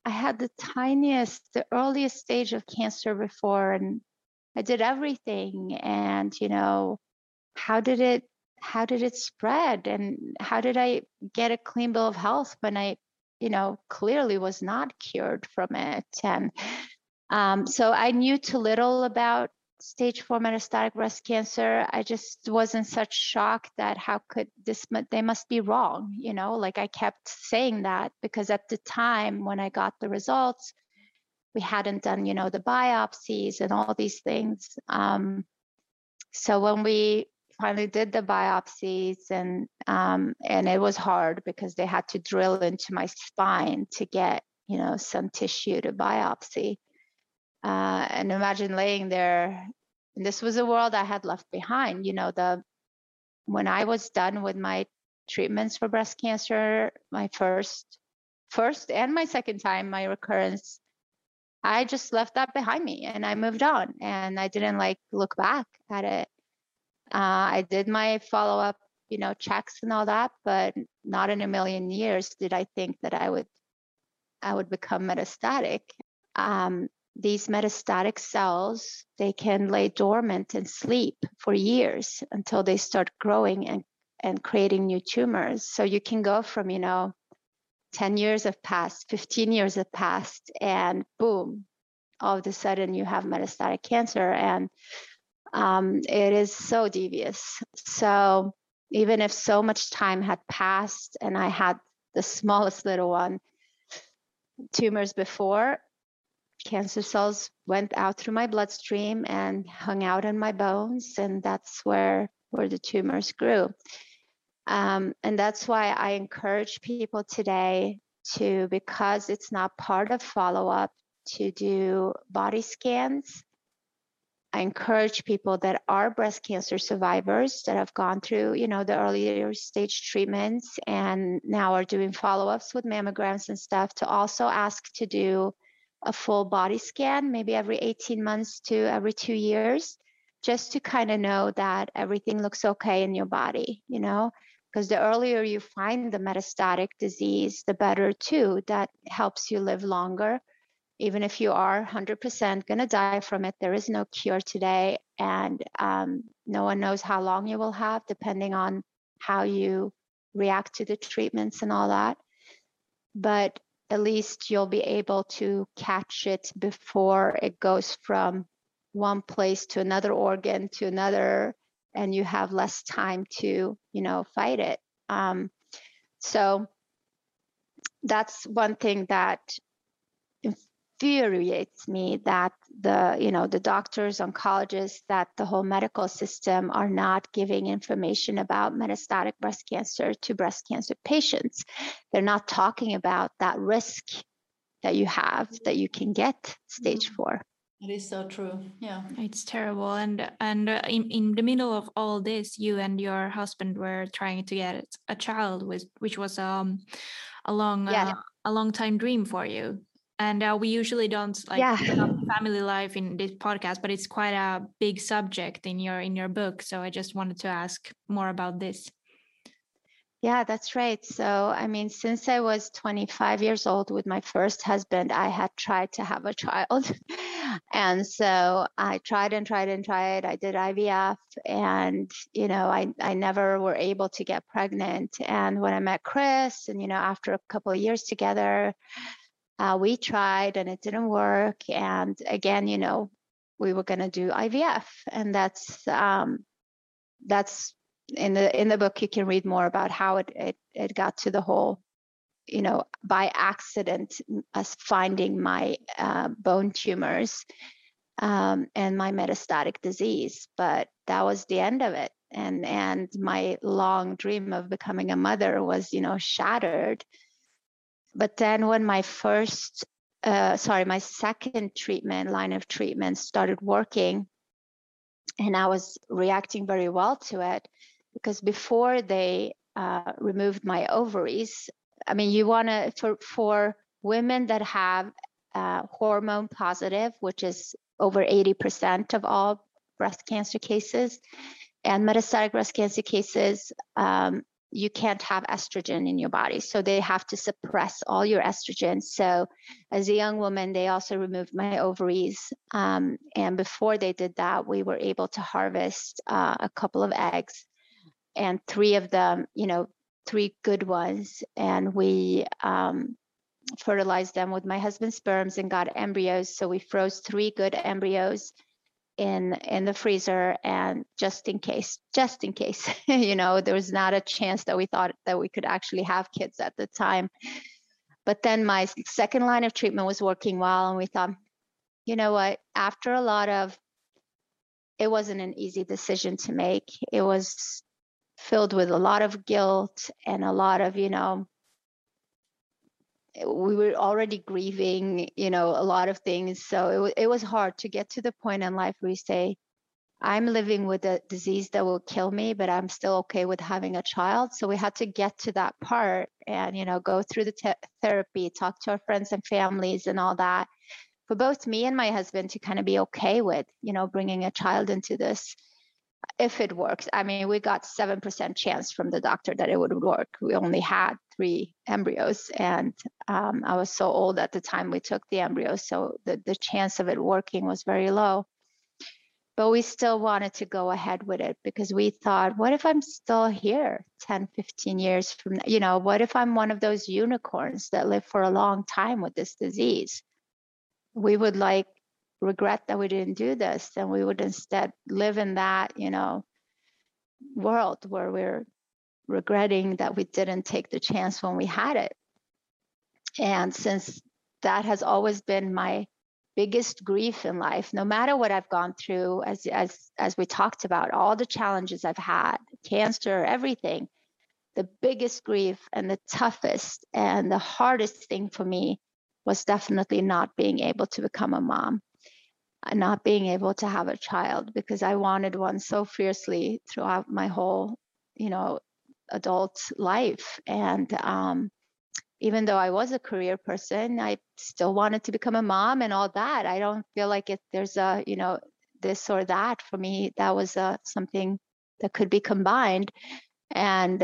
I had the earliest stage of cancer before, and I did everything. And, how did it spread? And how did I get a clean bill of health when I, clearly was not cured from it? And so I knew too little about stage 4 metastatic breast cancer. I just was in such shock that how could they must be wrong, like I kept saying that because at the time when I got the results, we hadn't done, the biopsies and all these things. So when we finally did the biopsies and it was hard because they had to drill into my spine to get, some tissue to biopsy. And imagine laying there. And this was a world I had left behind. When I was done with my treatments for breast cancer, my first and my second time, my recurrence, I just left that behind me and I moved on, and I didn't look back at it. I did my follow-up, checks and all that, but not in a million years did I think that I would become metastatic. These metastatic cells, they can lay dormant and sleep for years until they start growing and creating new tumors. So you can go from, 10 years have passed, 15 years have passed, and boom, all of a sudden you have metastatic cancer. And it is so devious. So even if so much time had passed and I had the smallest little one, tumors before, cancer cells went out through my bloodstream and hung out in my bones, and that's where the tumors grew. And that's why I encourage people today to, because it's not part of follow-up, to do body scans. I encourage people that are breast cancer survivors that have gone through, the earlier stage treatments and now are doing follow-ups with mammograms and stuff, to also ask to do a full body scan, maybe every 18 months to every 2 years, just to kind of know that everything looks okay in your body, because the earlier you find the metastatic disease, the better too. That helps you live longer. Even if you are 100% going to die from it, there is no cure today. And no one knows how long you will have, depending on how you react to the treatments and all that. But at least you'll be able to catch it before it goes from one place to another organ to another, and you have less time to, fight it. So that's one thing that infuriates me, that the doctors, oncologists, that the whole medical system are not giving information about metastatic breast cancer to breast cancer patients. They're not talking about that risk that you have, that you can get stage 4. It is so true. Yeah, it's terrible. And in the middle of all this, you and your husband were trying to get a child, which was a long time dream for you. And we usually don't family life in this podcast, but it's quite a big subject in your book. So I just wanted to ask more about this. Yeah, that's right. So, since I was 25 years old with my first husband, I had tried to have a child. And so I tried and tried and tried. I did IVF, and, I never were able to get pregnant. And when I met Chris, and, after a couple of years together, we tried and it didn't work. And again, we were going to do IVF, and that's in the book. You can read more about how it got to the whole, by accident, us finding my bone tumors and my metastatic disease. But that was the end of it, and my long dream of becoming a mother was, shattered. But then when my second line of treatment started working, and I was reacting very well to it, because before they removed my ovaries, you want to, for women that have hormone positive, which is over 80% of all breast cancer cases and metastatic breast cancer cases, you can't have estrogen in your body. So they have to suppress all your estrogen. So as a young woman, they also removed my ovaries. And before they did that, we were able to harvest a couple of eggs, and 3 of them, 3 good ones. And we fertilized them with my husband's sperms and got embryos. So we froze 3 good embryos in the freezer, and just in case, there was not a chance that we thought that we could actually have kids at the time. But then my second line of treatment was working well, and we thought, you know what, after a lot of, it wasn't an easy decision to make. It was filled with a lot of guilt and a lot of, we were already grieving, a lot of things. So it was hard to get to the point in life where you say, I'm living with a disease that will kill me, but I'm still okay with having a child. So we had to get to that part and, go through the therapy, talk to our friends and families and all that, for both me and my husband to kind of be okay with, bringing a child into this. If it works. I mean, we got 7% chance from the doctor that it would work. We only had 3 embryos, and I was so old at the time we took the embryos, so the chance of it working was very low. But we still wanted to go ahead with it because we thought, what if I'm still here 10, 15 years from now? What if I'm one of those unicorns that live for a long time with this disease? We would regret that we didn't do this, and we would instead live in that, world where we're regretting that we didn't take the chance when we had it. And since that has always been my biggest grief in life, no matter what I've gone through, as we talked about, all the challenges I've had, cancer, everything, the biggest grief and the toughest and the hardest thing for me was definitely not being able to become a mom. Not being able to have a child, because I wanted one so fiercely throughout my whole, adult life. And even though I was a career person, I still wanted to become a mom and all that. I don't feel like there's a, this or that. For me, that was something that could be combined. And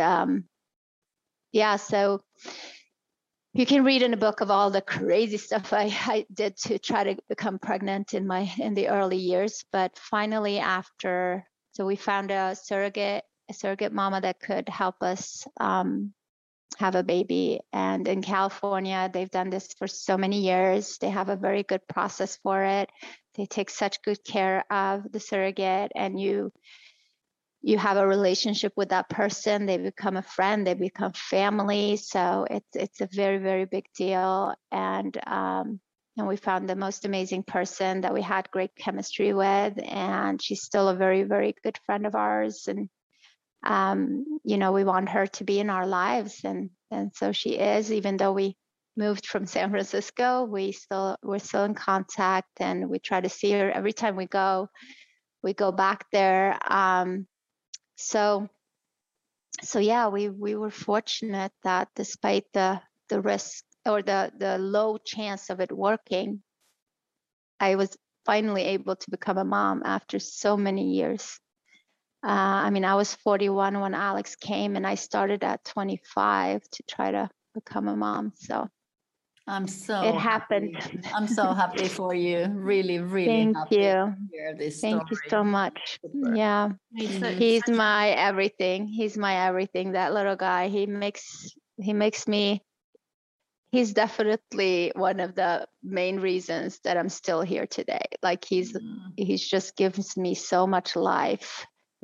so you can read in a book of all the crazy stuff I did to try to become pregnant in the early years. But finally, so we found a surrogate mama that could help us have a baby. And in California, they've done this for so many years. They have a very good process for it. They take such good care of the surrogate, and you have a relationship with that person. They become a friend, they become family. So it's a very, very big deal. And we found the most amazing person that we had great chemistry with, and she's still a very, very good friend of ours. And we want her to be in our lives, and so she is. Even though we moved from San Francisco, we're still in contact, and we try to see her every time we go back there. So yeah, we were fortunate that despite the risk or the low chance of it working, I was finally able to become a mom after so many years. I was 41 when Alex came, and I started at 25 to try to become a mom. So it happened. I'm so happy for you. Really, really happy to hear this story. Thank you so much. Super. Yeah. He's my everything. He's my everything. That little guy, he makes me, he's definitely one of the main reasons that I'm still here today. Like he's just gives me so much life,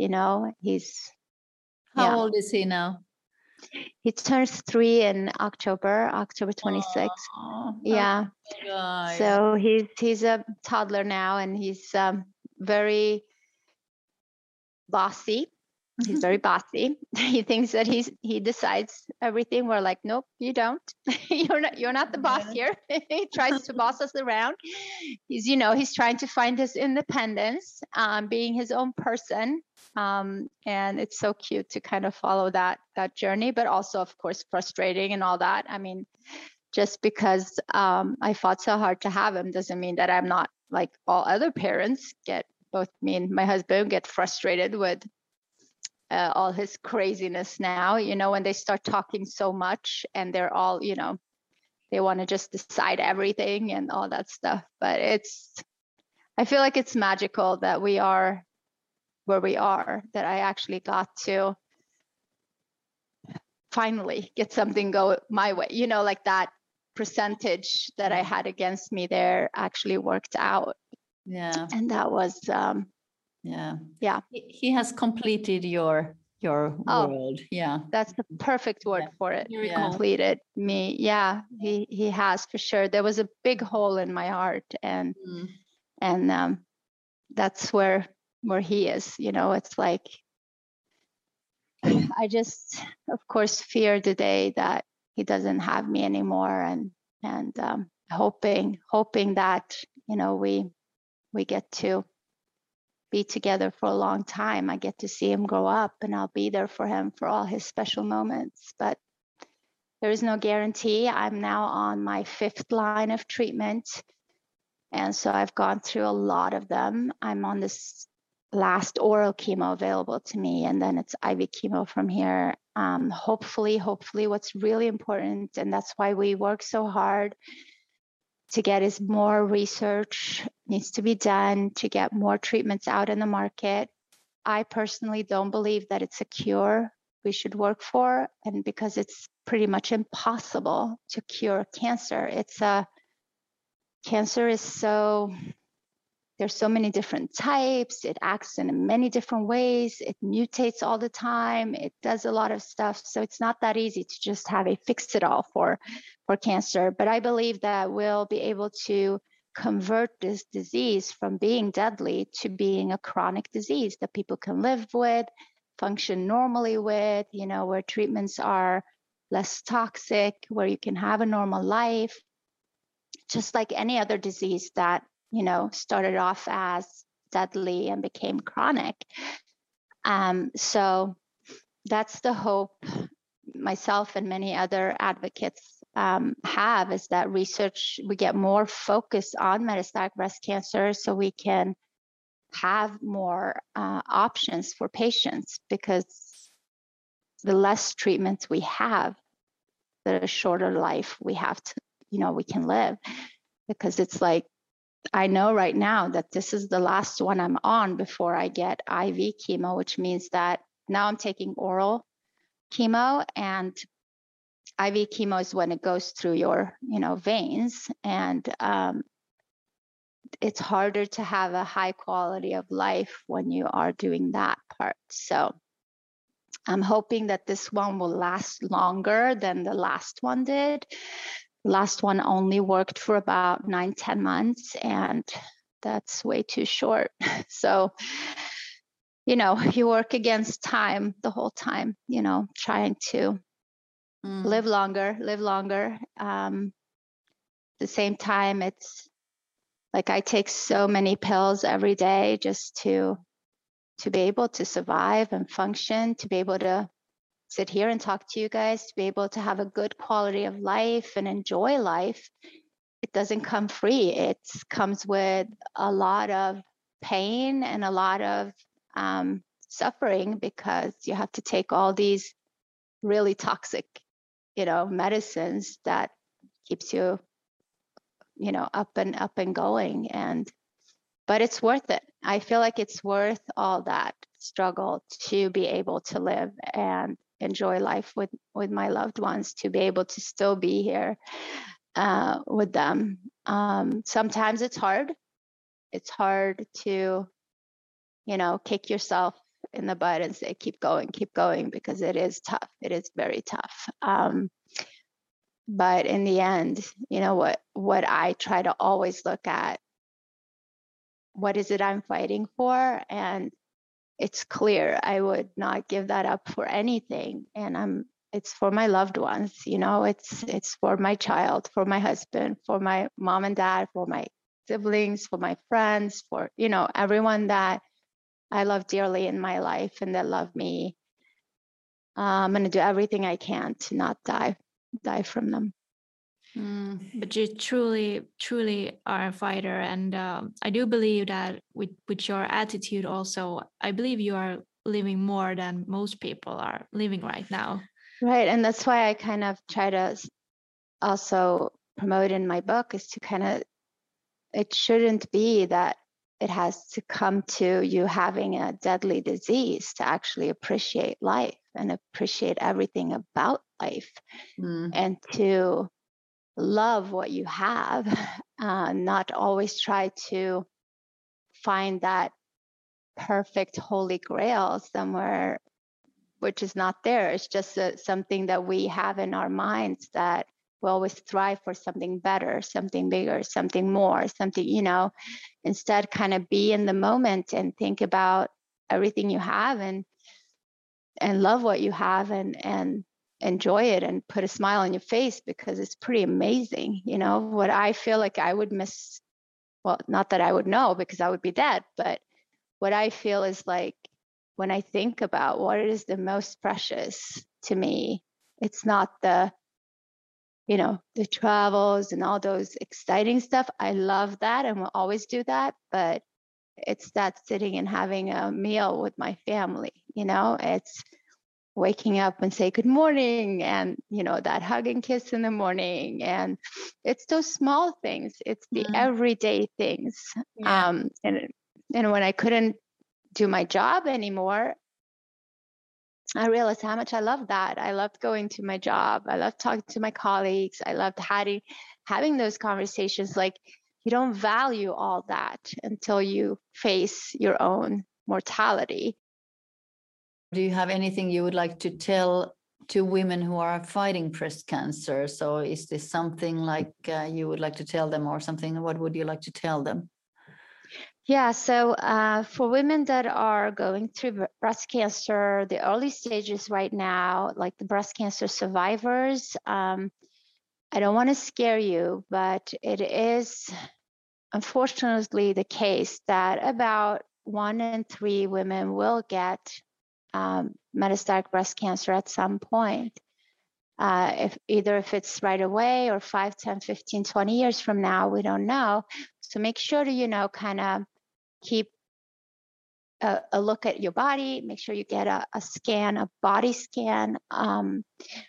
How old is he now? He turns 3 in October 26th. Yeah. So he's a toddler now, and he's very bossy. He's very bossy. He thinks that he decides everything. We're like, nope, you don't. You're not the boss here. He tries to boss us around. He's trying to find his independence, being his own person. And it's so cute to kind of follow that journey, but also, of course, frustrating and all that. Just because I fought so hard to have him doesn't mean that I'm not like all other parents. Both me and my husband get frustrated with all his craziness now, when they start talking so much and they're all, they want to just decide everything and all that stuff. But I feel like it's magical that we are where we are, that I actually got to finally get something go my way, like that percentage that I had against me there actually worked out. Yeah. And that was, yeah. He has completed your world. Yeah. That's the perfect word for it. Completed me. Yeah, he has for sure. There was a big hole in my heart, and that's where he is. It's like I just, of course, fear the day that he doesn't have me anymore, and hoping that we get to be together for a long time. I get to see him grow up, and I'll be there for him for all his special moments. But there is no guarantee. I'm now on my 5th line of treatment, and so I've gone through a lot of them. I'm on this last oral chemo available to me, and then it's IV chemo from here. Hopefully, what's really important, and that's why we work so hard to get, is more research needs to be done to get more treatments out in the market. I personally don't believe that it's a cure we should work for, and because it's pretty much impossible to cure cancer. Cancer is there's so many different types. It acts in many different ways. It mutates all the time. It does a lot of stuff. So it's not that easy to just have a fix it all for cancer. But I believe that we'll be able to convert this disease from being deadly to being a chronic disease that people can live with, function normally with, where treatments are less toxic, where you can have a normal life, just like any other disease that started off as deadly and became chronic. So that's the hope myself and many other advocates have, is that we get more focus on metastatic breast cancer so we can have more options for patients, because the less treatments we have, the shorter life we have to, we can live. Because it's like, I know right now that this is the last one I'm on before I get IV chemo, which means that now I'm taking oral chemo, and IV chemo is when it goes through your, veins, and it's harder to have a high quality of life when you are doing that part. So I'm hoping that this one will last longer than the last one did. The last one only worked for about 9-10 months, and that's way too short. So, you work against time the whole time, trying to live longer. At the same time, it's like I take so many pills every day just to be able to survive and function, to be able to sit here and talk to you guys, to be able to have a good quality of life and enjoy life. It doesn't come free. It comes with a lot of pain and a lot of suffering, because you have to take all these really toxic, medicines that keeps you, up and going. But it's worth it. I feel like it's worth all that struggle to be able to live and enjoy life with my loved ones, to be able to still be here with them. Sometimes it's hard. It's hard to, kick yourself in the butt and say, keep going, because it is tough. It is very tough. But in the end, what I try to always look at, what is it I'm fighting for? And it's clear I would not give that up for anything. And it's for my loved ones, it's for my child, for my husband, for my mom and dad, for my siblings, for my friends, for, everyone that I love dearly in my life and that love me. I'm going to do everything I can to not die from them. But you truly are a fighter, and I do believe that with your attitude also, I believe you are living more than most people are living right now. Right. And that's why I kind of try to also promote in my book is to kind of, it shouldn't be that it has to come to you having a deadly disease to actually appreciate life and appreciate everything about life and to love what you have, not always try to find that perfect holy grail somewhere which is not there. It's just something that we have in our minds that we always strive for something better, something bigger, something more, something, you know, instead kind of be in the moment and think about everything you have and love what you have and enjoy it and put a smile on your face because it's pretty amazing. You know, what I feel like I would miss, well, not that I would know because I would be dead, but what I feel is like when I think about what is the most precious to me, it's not the, you know, the travels and all those exciting stuff. I love that and will always do that, but it's that sitting and having a meal with my family, you know, it's waking up and say good morning and, you know, that hug and kiss in the morning. And it's those small things. It's the everyday things. Yeah. And when I couldn't do my job anymore, I realized how much I loved that. I loved going to my job. I loved talking to my colleagues. I loved having those conversations. Like you don't value all that until you face your own mortality. Do you have anything you would like to tell to women who are fighting breast cancer? So is this something like you would like to tell them or something? What would you like to tell them? Yeah, so for women that are going through breast cancer, the early stages right now, like the breast cancer survivors, I don't want to scare you, but it is unfortunately the case that about 1 in 3 women will get metastatic breast cancer at some point. If it's right away or 5, 10, 15, 20 years from now, we don't know. So make sure to, you know, kind of keep a look at your body, make sure you get a scan, a body scan on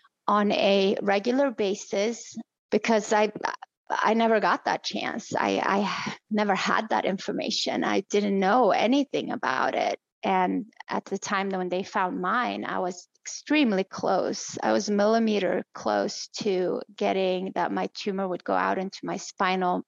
a regular basis, because I never got that chance. I never had that information. I didn't know anything about it. And at the time when they found mine, I was extremely close. I was millimeter close to getting that my tumor would go out into my spinal,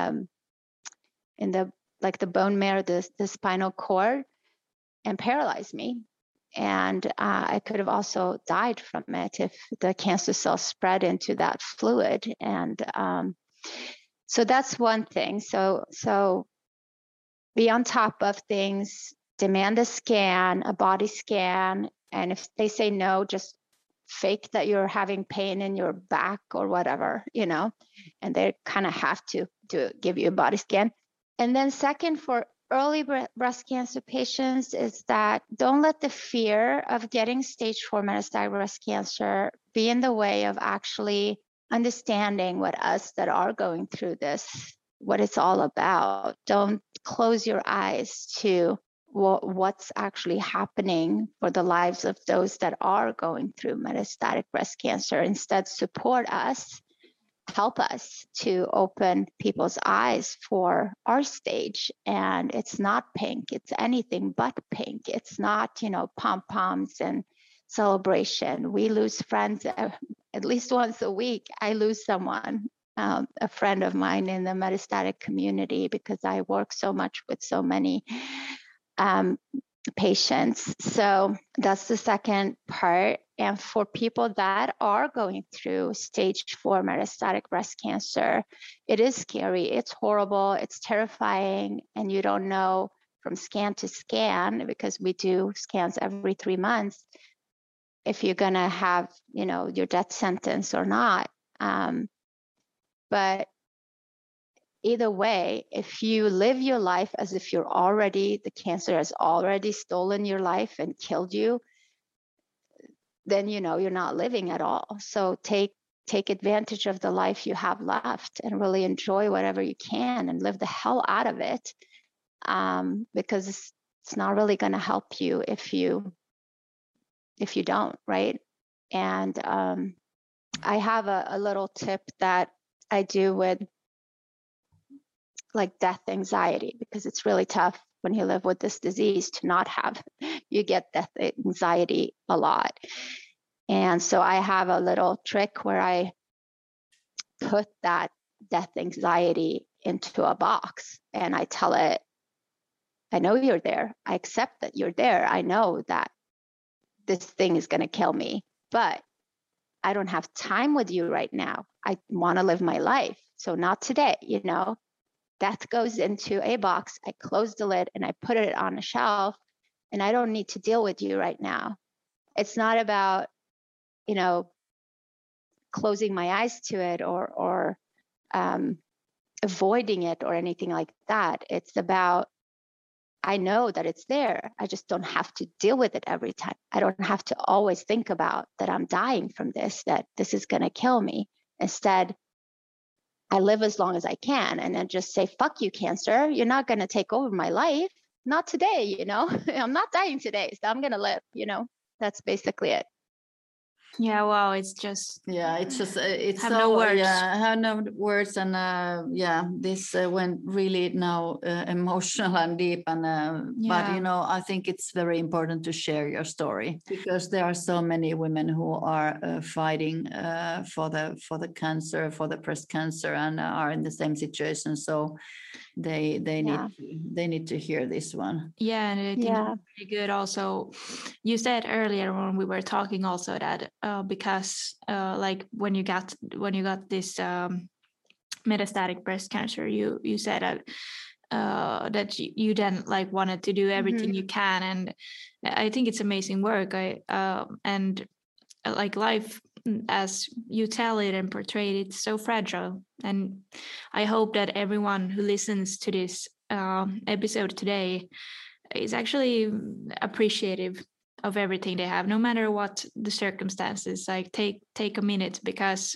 in the bone marrow, the spinal cord, and paralyze me. And I could have also died from it if the cancer cells spread into that fluid. And so that's one thing. So be on top of things, demand a scan, a body scan. And if they say no, just fake that you're having pain in your back or whatever, you know, and they kind of have to give you a body scan. And then second, for early breast cancer patients, is that don't let the fear of getting stage 4 metastatic breast cancer be in the way of actually understanding what us that are going through this, what it's all about. Don't close your eyes to what's actually happening for the lives of those that are going through metastatic breast cancer. Instead, support us, help us to open people's eyes for our stage. And it's not pink, it's anything but pink. It's not, you know, pom-poms and celebration. We lose friends at least once a week. I lose someone, a friend of mine in the metastatic community, because I work so much with so many patients. So that's the second part. And for people that are going through stage 4 metastatic breast cancer, it is scary, it's horrible, it's terrifying, and you don't know from scan to scan, because we do scans every 3 months, if you're gonna have, you know, your death sentence or not. But either way, if you live your life as if the cancer has already stolen your life and killed you, then you know you're not living at all. So take advantage of the life you have left and really enjoy whatever you can and live the hell out of it, because it's not really going to help you if you don't, right? And I have a little tip that I do with like death anxiety, because it's really tough when you live with this disease to not have, you get death anxiety a lot. And so I have a little trick where I put that death anxiety into a box and I tell it, I know you're there. I accept that you're there. I know that this thing is going to kill me, but I don't have time with you right now. I want to live my life. So not today, you know. Death goes into a box. I close the lid and I put it on a shelf, and I don't need to deal with you right now. It's not about, you know, closing my eyes to it or avoiding it or anything like that. It's about, I know that it's there. I just don't have to deal with it every time. I don't have to always think about that I'm dying from this, that this is going to kill me. Instead, I live as long as I can, and then just say, fuck you, cancer. You're not going to take over my life. Not today, you know. I'm not dying today, so I'm going to live, you know. That's basically it. Yeah, wow, it's just it's have so, no words. I have no words, and this went really now emotional and deep, and but you know, I think it's very important to share your story, because there are so many women who are fighting for the cancer, for the breast cancer, and are in the same situation. So they need to hear this one. Yeah, and I think it's really good. Also, you said earlier when we were talking also that because like when you got this metastatic breast cancer, you said that that you then like wanted to do everything you can, and I think it's amazing work. And like life, as you tell it and portray it, it's so fragile, and I hope that everyone who listens to this episode today is actually appreciative of everything they have, no matter what the circumstances. Like take a minute, because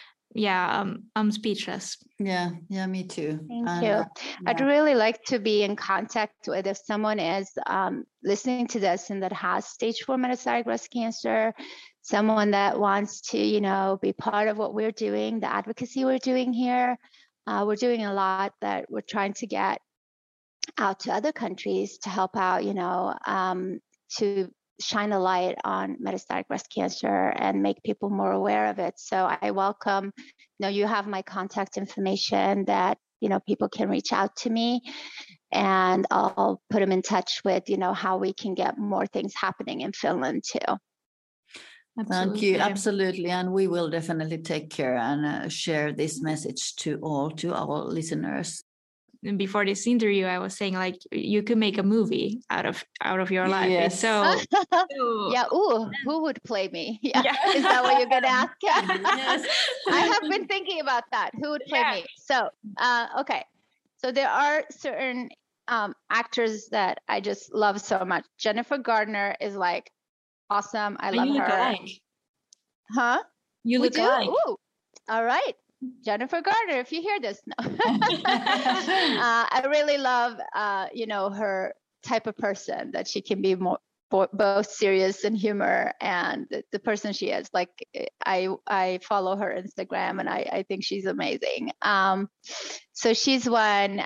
I'm speechless. Yeah, me too. Thank you. I'd really like to be in contact with, if someone is listening to this and that has stage 4 metastatic breast cancer, someone that wants to, you know, be part of what we're doing, the advocacy we're doing here. We're doing a lot that we're trying to get out to other countries to help out, you know, to shine a light on metastatic breast cancer and make people more aware of it. So I welcome, you know, you have my contact information that, you know, people can reach out to me, and I'll put them in touch with, you know, how we can get more things happening in Finland too. Thank you. Absolutely. And we will definitely take care and share this message to our listeners. And before this interview, I was saying like you could make a movie out of your life. Yes. So yeah. Ooh, who would play me? Yeah. Is that what you're gonna ask? Yes. I have been thinking about that. Who would play me? So okay. So there are certain actors that I just love so much. Jennifer Gardner is like awesome. I love her. Alike. Huh? You look alike. Ooh. All right. Jennifer Gardner, if you hear this, no. I really love, you know, her type of person, that she can be more both serious and humor, and the person she is. Like I follow her Instagram, and I think she's amazing. So she's one.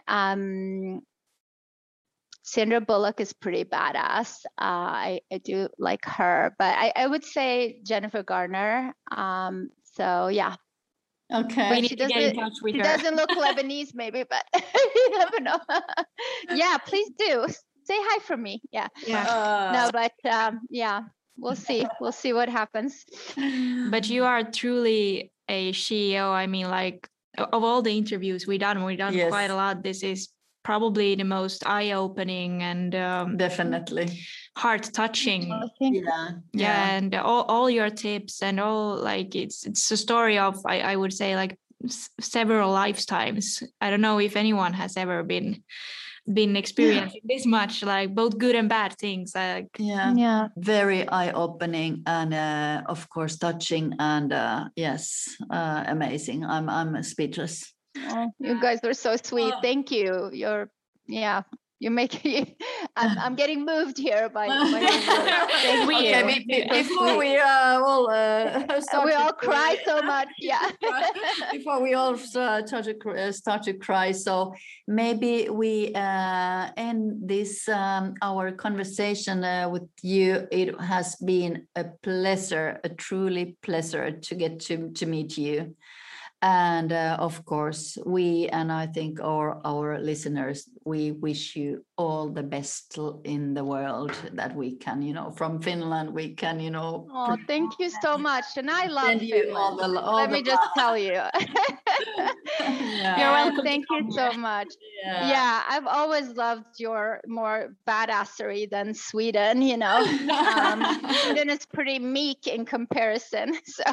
Sandra Bullock is pretty badass. I do like her, but I would say Jennifer Gardner. So yeah. Okay. We need to get in touch with her. She doesn't look Lebanese, maybe, but you never know. Yeah, please do. Say hi from me. Yeah. No, but yeah, we'll see. We'll see what happens. But you are truly a CEO. I mean, like of all the interviews we've done quite a lot. This is probably the most eye-opening and definitely heart-touching. Yeah, and all your tips and all, like it's a story of I would say like several lifetimes. I don't know if anyone has ever been experiencing this much, like both good and bad things. Very eye-opening, and of course touching, and amazing. I'm speechless. Oh, you guys were so sweet. Thank you. I'm getting moved here by your words. Before we all cry so much, yeah. Before we all start to cry, so maybe we end this our conversation with you. It has been a pleasure, a truly pleasure to get to meet you. And of course, we, and I think our listeners, we wish you all the best in the world that we can, from Finland, we can, Oh, thank you so much. And I love Finland. Let me just tell you. You're welcome. Thank you so much. Yeah, I've always loved your more badassery than Sweden, Sweden is pretty meek in comparison. So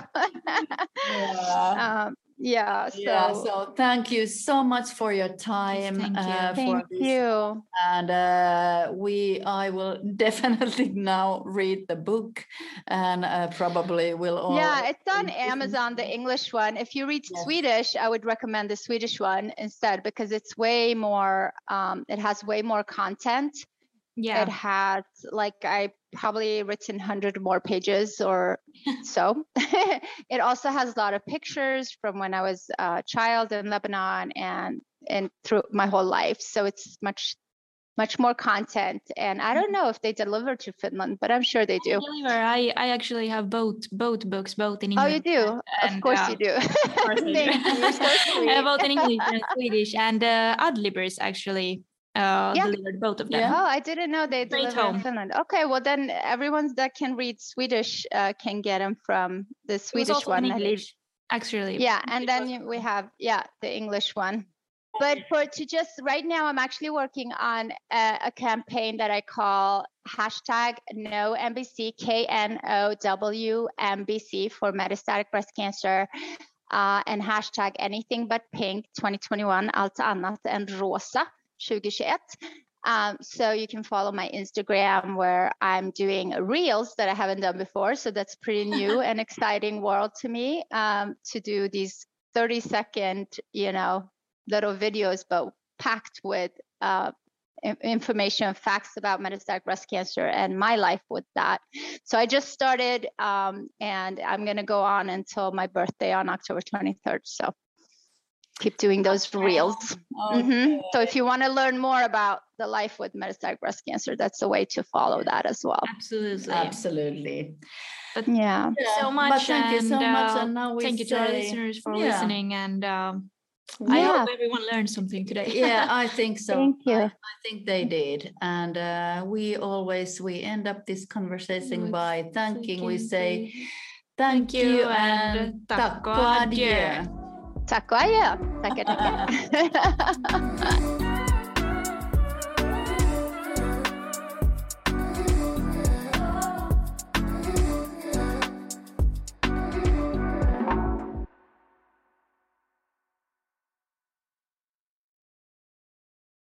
so thank you so much for your time. Thank you. And I will definitely now read the book, and probably will all. Yeah, it's on Amazon, the English one. If you read Swedish, I would recommend the Swedish one instead, because it's way more. It has way more content. Yeah, it has, I probably written 100 more pages or so. It also has a lot of pictures from when I was a child in Lebanon and through my whole life. So it's much more content. And I don't know if they deliver to Finland, but I'm sure they do. I actually have both books, both in English. Oh, you do? Of course you do. Thank you. You're so sweet. Both in English and Swedish, and Adlibris actually. Delivered both of them. Oh, I didn't know they delivered in Finland. Okay, well then everyone that can read Swedish can get them from the Swedish one. Actually. Yeah, and then we have the English one. But right now, I'm actually working on a campaign that I call #NoMBC, KNOWMBC for metastatic breast cancer. And #AnythingButPink 2021, allt annat än rosa 2021. So you can follow my Instagram, where I'm doing reels that I haven't done before. So that's pretty new and exciting world to me, to do these 30-second, little videos, but packed with information, facts about metastatic breast cancer and my life with that. So I just started, and I'm going to go on until my birthday on October 23rd. So keep doing those reels. Okay. So if you want to learn more about the life with metastatic breast cancer, that's a way to follow that as well. Absolutely. But so much. But thank you so much. And now thank you to our listeners for listening. And I hope everyone learned something today. Yeah, I think so. Thank you. I think they did. And we end up this conversation by thanking. We say thank you and tack och adjö. Tack och adjö. Tackar.